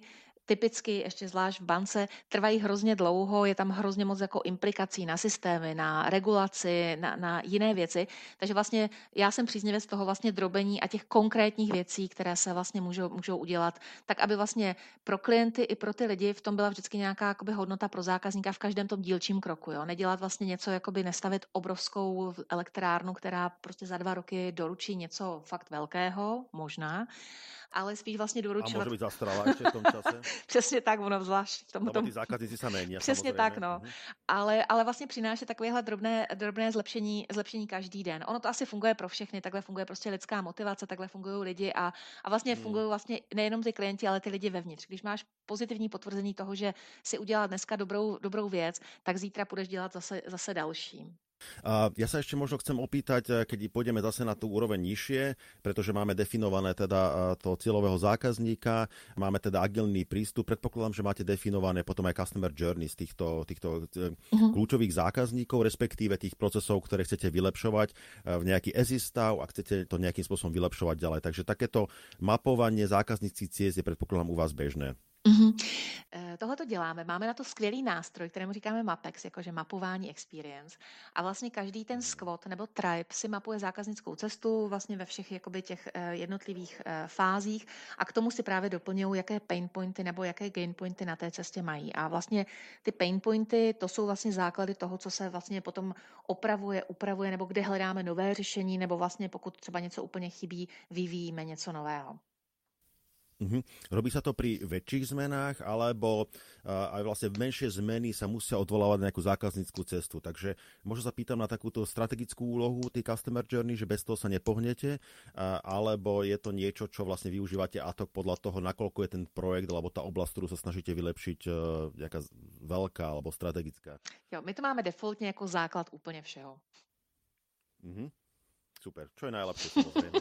typicky, ještě zvlášť v bance, trvají hrozně dlouho, je tam hrozně moc jako implikací na systémy, na regulaci, na, na jiné věci. Takže vlastně já jsem příznivec toho vlastně drobení a těch konkrétních věcí, které se vlastně můžou, můžou udělat, tak aby vlastně pro klienty i pro ty lidi v tom byla vždycky nějaká jakoby hodnota pro zákazníka v každém tom dílčím kroku. Jo? Nedělat vlastně něco, jakoby nestavit obrovskou elektrárnu, která prostě za dva roky doručí něco fakt velkého, možná, ale spíš vlastně doručovat. A může být zastaralá ještě v tom čase? Přesně tak, ono zvlášť v tom. Lebo ty zákazníci se mění. Přesně samozřejmě. tak, no. Mhm. Ale, ale vlastně přináší takovéhle drobné, drobné zlepšení, zlepšení každý den. Ono to asi funguje pro všechny, takhle funguje prostě lidská motivace, takhle fungují lidi a, a vlastně hmm. fungují vlastně nejenom ty klienti, ale ty lidi vevnitř. Když máš pozitivní potvrzení toho, že si udělal dneska dobrou, dobrou věc, tak zítra budeš dělat zase, zase další. Uh, ja sa ešte možno chcem opýtať, keď pôjdeme zase na tú úroveň nižšie, pretože máme definované teda uh, toho cieľového zákazníka, máme teda agilný prístup, predpokladám, že máte definované potom aj customer journey z týchto, týchto uh-huh. kľúčových zákazníkov, respektíve tých procesov, ktoré chcete vylepšovať uh, v nejaký as is stav a chcete to nejakým spôsobom vylepšovať ďalej. Takže takéto mapovanie zákazníckých ciest je predpokladám u vás bežné. Mm-hmm. Tohle to děláme. Máme na to skvělý nástroj, kterému říkáme Mapex, jakože mapování experience. A vlastně každý ten squad nebo tribe si mapuje zákaznickou cestu vlastně ve všech jakoby těch jednotlivých fázích a k tomu si právě doplňují, jaké pain pointy nebo jaké gain pointy na té cestě mají. A vlastně ty pain pointy, to jsou vlastně základy toho, co se vlastně potom opravuje, upravuje nebo kde hledáme nové řešení nebo vlastně pokud třeba něco úplně chybí, vyvíjíme něco nového. Uh-huh. Robí sa to pri väčších zmenách, alebo uh, aj vlastne menšie zmeny sa musia odvolávať na nejakú zákazníckú cestu. Takže možno sa pýtam na takúto strategickú úlohu tej customer journey, že bez toho sa nepohnete, uh, alebo je to niečo, čo vlastne využívate ad hoc podľa toho, nakoľko je ten projekt, alebo tá oblasť, ktorú sa snažíte vylepšiť, uh, nejaká veľká alebo strategická. Jo, my to máme defaultne ako základ úplne všeho. Uh-huh. Super, čo je najlepšie samozrejme.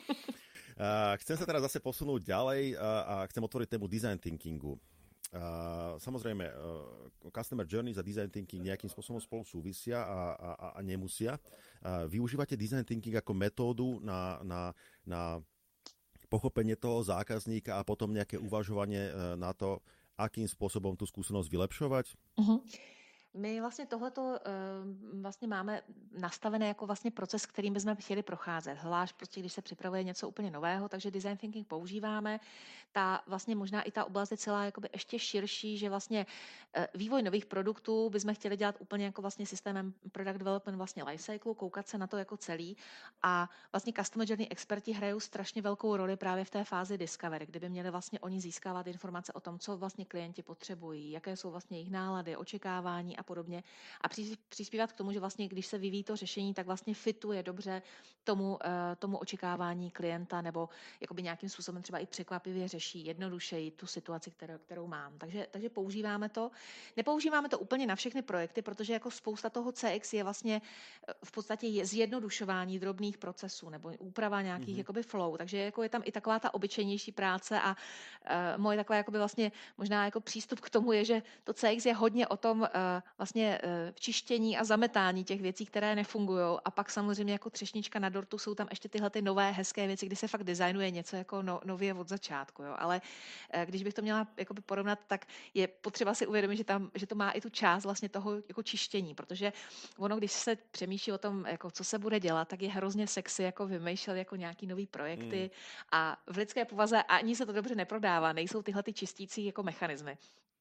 Uh, chcem sa teraz zase posunúť ďalej uh, a chcem otvoriť tému design thinkingu. Uh, samozrejme, uh, customer journeys a design thinking nejakým spôsobom spolu súvisia a, a, a nemusia. Uh, využívate design thinking ako metódu na, na, na pochopenie toho zákazníka a potom nejaké uvažovanie uh, na to, akým spôsobom tú skúsenosť vylepšovať? Uh-huh. My vlastně tohleto vlastně máme nastavené jako vlastně proces, kterým bychom chtěli procházet. Zvlášť prostě, když se připravuje něco úplně nového, takže design thinking používáme. Ta vlastně možná i ta oblast je celá jakoby ještě širší, že vlastně vývoj nových produktů bychom chtěli dělat úplně jako vlastně systémem product development vlastně lifecycle, koukat se na to jako celý a vlastně customer journey experti hrajou strašně velkou roli právě v té fázi discovery, kde by měli vlastně oni získávat informace o tom, co vlastně klienti potřebují, jaké jsou vlastně jejich nálady, očekávání a podobně a přispívat k tomu, že vlastně, když se vyvíjí to řešení, tak vlastně fituje dobře tomu, tomu očekávání klienta nebo jakoby nějakým způsobem třeba i překvapivě řeší jednodušeji tu situaci, kterou, kterou mám. Takže, takže používáme to. Nepoužíváme to úplně na všechny projekty, protože jako spousta toho C X je vlastně v podstatě je zjednodušování drobných procesů nebo úprava nějakých mm-hmm. jakoby flow. Takže jako je tam i taková ta obyčejnější práce a uh, moje taková jakoby vlastně možná jako přístup k tomu je, že to C X je hodně o tom uh, vlastně uh, čištění a zametání těch věcí, které nefungují a pak samozřejmě jako třešnička na dortu jsou tam ještě tyhle ty nové hezké věci, kdy se fakt designuje něco jako no, nově od začátku. Jo. Ale uh, když bych to měla jakoby porovnat, tak je potřeba si uvědomit, že, tam, že to má i tu část vlastně toho jako čištění, protože ono, když se přemýšlí o tom, jako co se bude dělat, tak je hrozně sexy jako vymýšlet jako nějaký nový projekty mm. a v lidské povaze ani se to dobře neprodává, nejsou tyhle ty čistící jako mechanismy.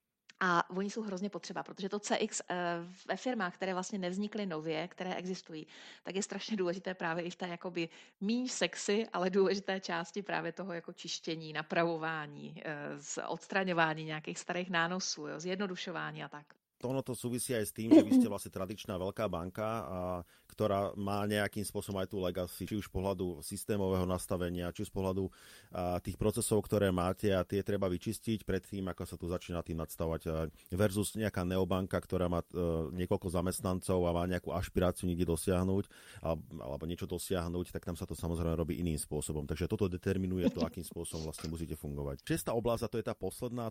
A oni jsou hrozně potřeba, protože to C X ve firmách, které vlastně nevznikly nově, které existují, tak je strašně důležité právě i v té jakoby míň sexy, ale důležité části právě toho jako čištění, napravování, odstraňování nějakých starých nánosů, jo, zjednodušování a tak. Ono to súvisí aj s tým, že vy ste vlastne tradičná veľká banka, a, ktorá má nejakým spôsobom aj tú legacy, či už z pohľadu systémového nastavenia, či z pohľadu a, tých procesov, ktoré máte a tie treba vyčistiť pred tým, ako sa tu začína tým nadstavať a, versus nejaká neobanka, ktorá má a, niekoľko zamestnancov a má nejakú ašpiráciu niekde dosiahnuť a, alebo niečo dosiahnuť, tak tam sa to samozrejme robí iným spôsobom. Takže toto determinuje to, akým spôsobom vlastne musíte fungovať. Šiesta oblasť, a to je tá posledná.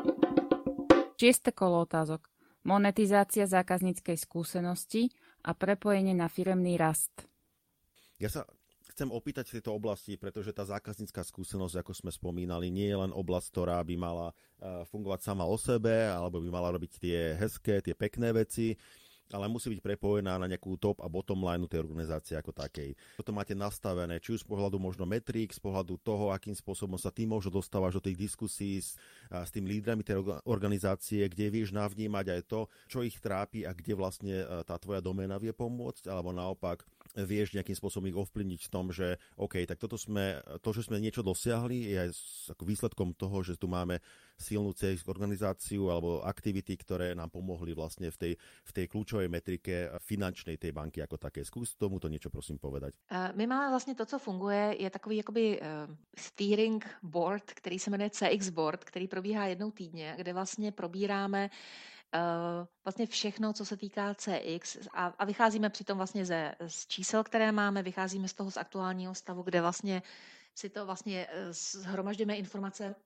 Šieste kolo otázok. Monetizácia zákazníckej skúsenosti a prepojenie na firemný rast. Ja sa chcem opýtať v tejto oblasti, pretože tá zákaznícka skúsenosť, ako sme spomínali, nie je len oblasť, ktorá by mala fungovať sama o sebe, alebo by mala robiť tie hezké, tie pekné veci, ale musí byť prepojená na nejakú top a bottom line tej organizácie ako takej. Toto máte nastavené, či už z pohľadu možno metrik, z pohľadu toho, akým spôsobom sa ty možno dostávaš do tých diskusí s, s tým lídrami tej organizácie, kde vieš navnímať aj to, čo ich trápi a kde vlastne tá tvoja doména vie pomôcť, alebo naopak vieš nejakým spôsobom ich ovplyvniť v tom, že OK, tak toto sme, to, že sme niečo dosiahli, je aj ako výsledkom toho, že tu máme silnú cé iks organizáciu alebo aktivity, ktoré nám pomohli vlastne v tej, v tej kľúčovej metrike finančnej tej banky ako také. Skús tomuto niečo prosím povedať. My máme vlastně to, co funguje, je takový jakoby steering board, který se jmenuje cé iks Board, který probíhá jednou týdně, kde vlastně probíráme Uh, vlastně všechno, co se týká cé iks a, a vycházíme přitom vlastně ze, z čísel, které máme, vycházíme z toho z aktuálního stavu, kde vlastně si to vlastně shromažďujeme informace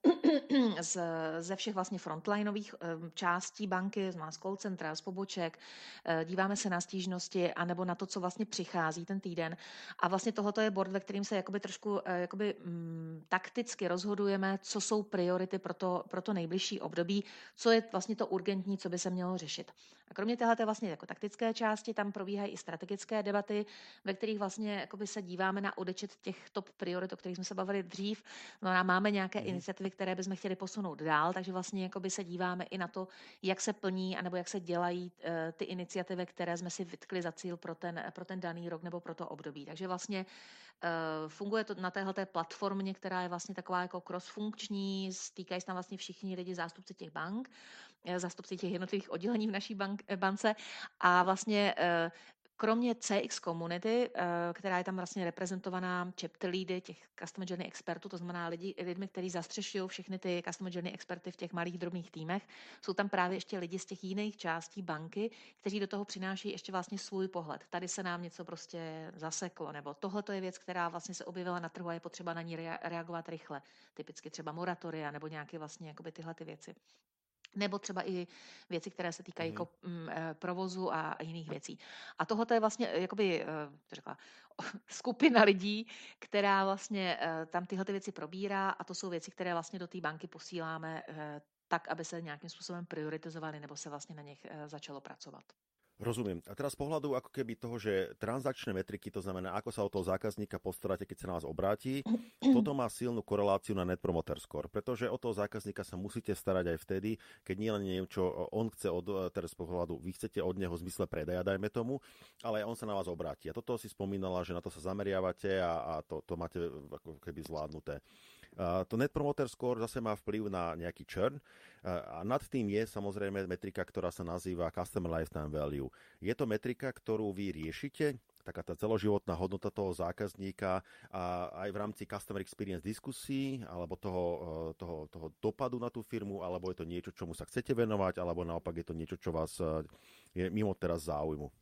z, ze všech vlastně frontlineových částí banky, z call centra, z poboček, díváme se na stížnosti anebo na to, co vlastně přichází ten týden. A vlastně tohoto je board, ve kterým se jakoby trošku jakoby, m, takticky rozhodujeme, co jsou priority pro to, pro to nejbližší období, co je vlastně to urgentní, co by se mělo řešit. A kromě téhleté vlastně jako taktické části tam probíhají i strategické debaty, ve kterých vlastně jakoby se díváme na odečet těch top priorit, o kterých jsme se bavili dřív. No, máme nějaké mm. iniciativy, které bychom chtěli posunout dál, takže vlastně jakoby se díváme i na to, jak se plní anebo jak se dělají uh, ty iniciativy, které jsme si vytkli za cíl pro ten, pro ten daný rok nebo pro to období. Takže vlastně uh, funguje to na téhleté platformě, která je vlastně taková jako cross-funkční, stýkají se tam vlastně všichni lidi, zástupci těch bank, zástupci těch jednotlivých oddělení v naší bank, bance a vlastně uh, kromě cé iks komunity, která je tam vlastně reprezentovaná chapter leady těch customer journey expertů, to znamená lidi, lidmi, kteří zastřešují všechny ty customer journey experty v těch malých drobných týmech, jsou tam právě ještě lidi z těch jiných částí banky, kteří do toho přinášejí ještě vlastně svůj pohled. Tady se nám něco prostě zaseklo, nebo tohle to je věc, která vlastně se objevila na trhu a je potřeba na ní reagovat rychle. Typicky třeba moratoria nebo nějaké vlastně jakoby tyhle ty věci. Nebo třeba i věci, které se týkají mm. jako, m, provozu a jiných věcí. A tohle je vlastně jakoby, to řekla, skupina lidí, která vlastně tam tyhle ty věci probírá a to jsou věci, které vlastně do té banky posíláme tak, aby se nějakým způsobem prioritizovaly nebo se vlastně na nich začalo pracovat. Rozumiem. A teraz z pohľadu ako keby toho, že transakčné metriky, to znamená, ako sa o toho zákazníka postaráte, keď sa na vás obráti, toto má silnú koreláciu na Net Promoter Score, pretože o toho zákazníka sa musíte starať aj vtedy, keď nie len neviem, čo on chce od, teraz z pohľadu, vy chcete od neho v zmysle predaja, dajme tomu, ale on sa na vás obráti. A toto si spomínala, že na to sa zameriavate a, a to, to máte ako keby zvládnuté. Uh, to Net Promoter Score zase má vplyv na nejaký churn uh, a nad tým je samozrejme metrika, ktorá sa nazýva Customer Lifetime Value. Je to metrika, ktorú vy riešite, taká tá celoživotná hodnota toho zákazníka a aj v rámci Customer Experience diskusí alebo toho, uh, toho, toho dopadu na tú firmu, alebo je to niečo, čomu sa chcete venovať, alebo naopak je to niečo, čo vás uh, je mimo teraz záujmu.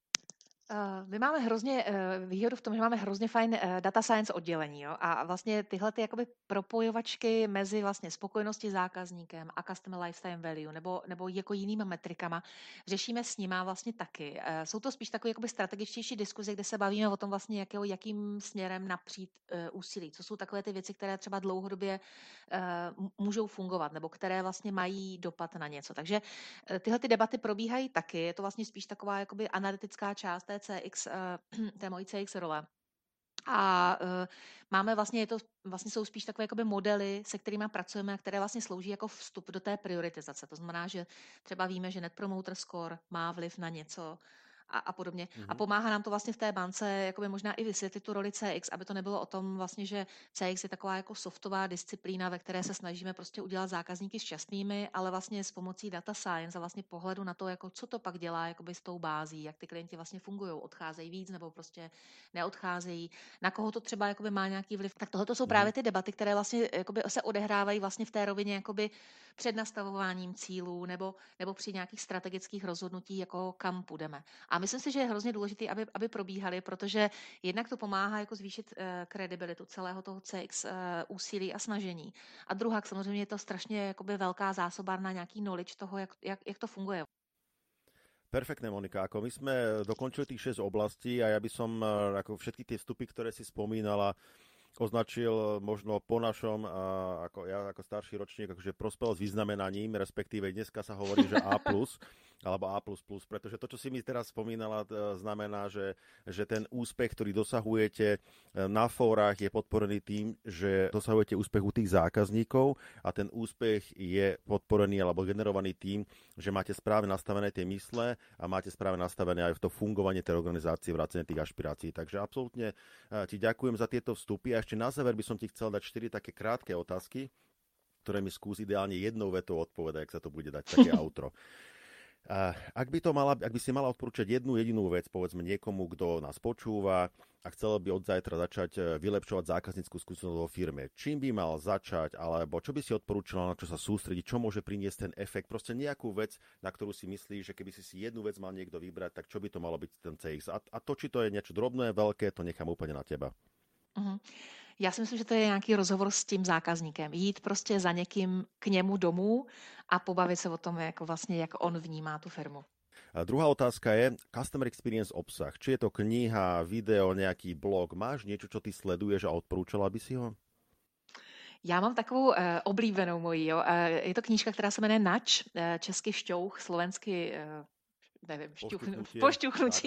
My máme hrozně výhodu v tom, že máme hrozně fajn data science oddělení, jo? A vlastně tyhle ty jakoby propojovačky mezi vlastně spokojeností zákazníkem a customer lifetime value nebo, nebo jako jinýma metrikama řešíme s nima vlastně taky. Jsou to spíš takové jakoby strategičtější diskuze, kde se bavíme o tom vlastně, jakého, jakým směrem napřít úsilí. Co jsou takové ty věci, které třeba dlouhodobě můžou fungovat nebo které vlastně mají dopad na něco. Takže tyhle ty debaty probíhají taky. Je to vlastně spíš taková jakoby analytická část té cé iks, té mojí cé iks role. A uh, máme vlastně, je to, vlastně jsou spíš takové jakoby modely, se kterými pracujeme a které vlastně slouží jako vstup do té prioritizace. To znamená, že třeba víme, že Net Promoter Score má vliv na něco a, a podobně. Mm-hmm. A pomáhá nám to vlastně v té bance jakoby možná i vysvětlit tu roli cé iks, aby to nebylo o tom vlastně, že cé iks je taková jako softová disciplína, ve které se snažíme prostě udělat zákazníky šťastnými, ale vlastně s pomocí data science a vlastně pohledu na to, jako co to pak dělá jakoby s tou bází, jak ty klienti vlastně fungují, odcházejí víc nebo prostě neodcházejí, na koho to třeba jakoby má nějaký vliv. Tak tohle to jsou mm-hmm. právě ty debaty, které vlastně jakoby se odehrávají vlastně v té rovině jakoby před nastavováním cílů nebo, nebo při nějakých strategických rozhodnutí, jako kam půjdeme. A myslím si, že je hrozně důležité, aby, aby probíhaly, protože jednak to pomáhá jako zvýšit uh, kredibilitu celého toho cé iks uh, úsilí a snažení. A druhá, samozřejmě je to strašně jakoby velká zásobárna nějaký knowledge toho, jak, jak, jak to funguje. Perfektné, Monika. Ako my sme dokončili tých šesť oblastí a ja by som ako všetky tie vstupy, ktoré si spomínala, označil možno po našom, ako ja ako starší ročník, akože prospel s vyznamenaním, respektíve dneska sa hovorí, že A plus, alebo A plus plus, pretože to, čo si mi teraz spomínala, znamená, že, že ten úspech, ktorý dosahujete na fórach, je podporený tým, že dosahujete úspech u tých zákazníkov a ten úspech je podporený alebo generovaný tým, že máte správne nastavené tie mysle a máte správne nastavené aj v to fungovanie tej organizácie, vrátane tých ašpirácií. Takže absolútne ti ďakujem za tieto vstupy. A ešte na záver by som ti chcel dať štyri také krátke otázky, ktoré mi skús ideálne jednou vetou odpovedať, ak sa to bude dať také outro. Ak by, to mala, ak by si mala odporúčať jednu jedinú vec, povedzme niekomu, kto nás počúva a chcel by od zajtra začať vylepšovať zákaznícku skúsenosť vo firme, čím by mal začať, alebo čo by si odporúčala, na čo sa sústrediť, čo môže priniesť ten efekt, proste nejakú vec, na ktorú si myslíš, že keby si si jednu vec mal niekto vybrať, tak čo by to malo byť ten cé iks. A, a to, či to je niečo drobné, veľké, to nechám úplne na teba. Uh-huh. Já si myslím, že to je nějaký rozhovor s tím zákazníkem. Jít prostě za někým k němu domů a pobavit se o tom, jako vlastně, jak on vnímá tu firmu. A druhá otázka je Customer Experience obsah. Či je to kniha, video, nejaký blog? Máš niečo, čo ty sleduješ a odporúčala by si ho? Já mám takovou uh, oblíbenou moji. Jo. Uh, je to knížka, která se jmenuje Nač, uh, česky šťouch, slovensky... Uh, nevím, pošťuchnutí. Pošťuchnutí.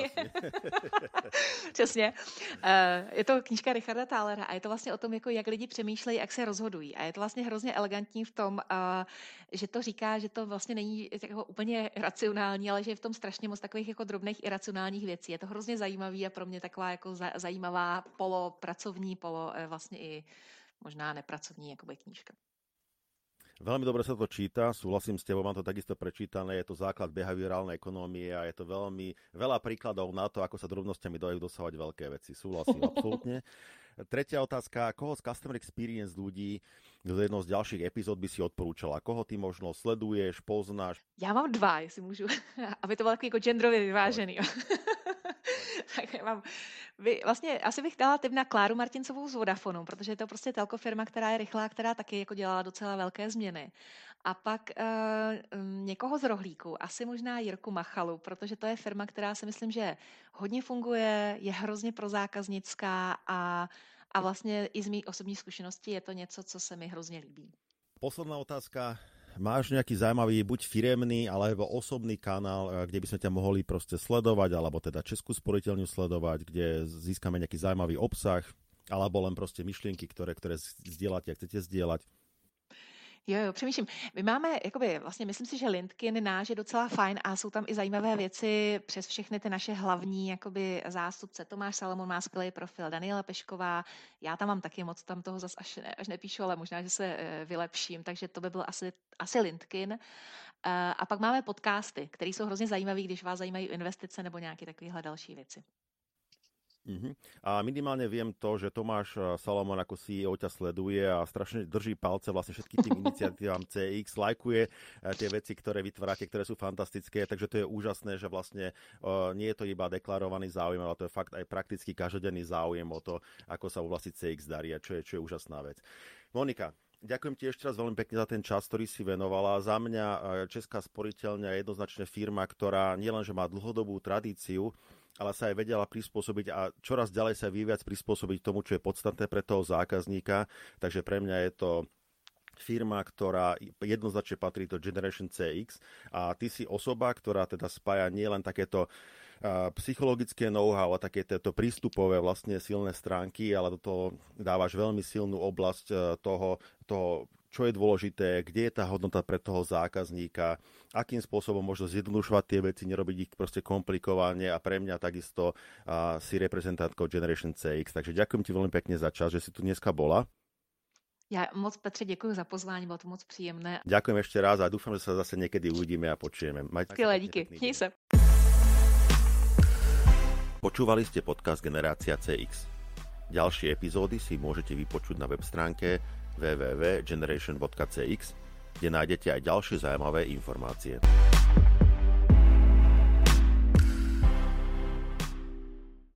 Přesně. Je to knížka Richarda Thalera a je to vlastně o tom, jako jak lidi přemýšlejí, jak se rozhodují. A je to vlastně hrozně elegantní v tom, že to říká, že to vlastně není jako úplně racionální, ale že je v tom strašně moc takových jako drobných iracionálních věcí. Je to hrozně zajímavý a pro mě taková jako zajímavá polopracovní, polo vlastně i možná nepracovní jakoby knížka. Veľmi dobre sa to číta, súhlasím s tebou, mám to takisto prečítané, je to základ behaviorálnej ekonómie a je to veľmi veľa príkladov na to, ako sa drobnosťami dajú dosahovať veľké veci. Súhlasím, absolútne. Tretia otázka, koho z Customer Experience ľudí do jednou z ďalších epizód by si odporúčala? Koho ty možno sleduješ, poznáš? Já mám dva, jestli můžu, aby to bylo takový jako genderově vyvážený. Tak já mám, vy, vlastně asi bych dala tip na Kláru Martincovou z Vodafonu, protože je to prostě telko firma, která je rychlá, která taky jako dělala docela velké změny. A pak uh, někoho z rohlíku, asi možná Jirku Machalu, protože to je firma, která si myslím, že hodně funguje, je hrozně prozákaznická a, a vlastně i z mých osobní zkušenosti je to něco, co se mi hrozně líbí. Posledná otázka. Máš nejaký zaujímavý, buď firemný, alebo osobný kanál, kde by sme ťa mohli proste sledovať, alebo teda Českú sporiteľňu sledovať, kde získame nejaký zaujímavý obsah, alebo len proste myšlienky, ktoré, ktoré zdieľate a chcete zdieľať? Jo, jo, přemýšlím. My máme, jakoby, vlastně myslím si, že LinkedIn náš je docela fajn a jsou tam i zajímavé věci přes všechny ty naše hlavní jakoby, zástupce. Tomáš Salomon má skvělý profil, Daniela Pešková, já tam mám taky moc, tam toho zas až, ne, až nepíšu, ale možná, že se e, vylepším, takže to by byl asi, asi LinkedIn. E, a pak máme podcasty, které jsou hrozně zajímavé, když vás zajímají investice nebo nějaké takovéhle další věci. Uh-huh. A minimálne viem to, že Tomáš Salomon ako sí í ó ťa sleduje a strašne drží palce vlastne všetkým tým iniciatívam cé iks, lajkuje tie veci, ktoré vytvárate, ktoré sú fantastické, takže to je úžasné, že vlastne uh, nie je to iba deklarovaný záujem, ale to je fakt aj prakticky každodenný záujem o to, ako sa u vlasti cé iks darí, čo je, čo je úžasná vec. Monika, ďakujem ti ešte raz veľmi pekne za ten čas, ktorý si venovala. Za mňa Česká sporiteľňa je jednoznačne firma, ktorá nielenže má dlhodobú tradíciu, ale sa aj vedela prispôsobiť a čoraz ďalej sa vyviac prispôsobiť tomu, čo je podstatné pre toho zákazníka. Takže pre mňa je to firma, ktorá jednoznačne patrí do Generation cé iks a ty si osoba, ktorá teda spája nielen takéto uh, psychologické know-how a takéto prístupové vlastne silné stránky, ale do toho dávaš veľmi silnú oblasť uh, toho, toho čo je dôležité, kde je tá hodnota pre toho zákazníka, akým spôsobom možno zjednodušovať tie veci, nerobiť ich proste komplikovane a pre mňa takisto uh, si reprezentantkou Generation cé iks. Takže ďakujem ti veľmi pekne za čas, že si tu dneska bola. Ja moc, Petře, děkuji za pozvání, bylo to moc příjemné. Ďakujem ešte raz a dúfam, že sa zase niekedy uvidíme a počujeme. Skvělé, díky. Měj se. Počúvali ste podcast Generácia cé iks. Ďalšie epizódy si môžete vypočuť na web stránke w w w bodka generation bodka c x, kde nájdete aj ďalšie zaujímavé informácie.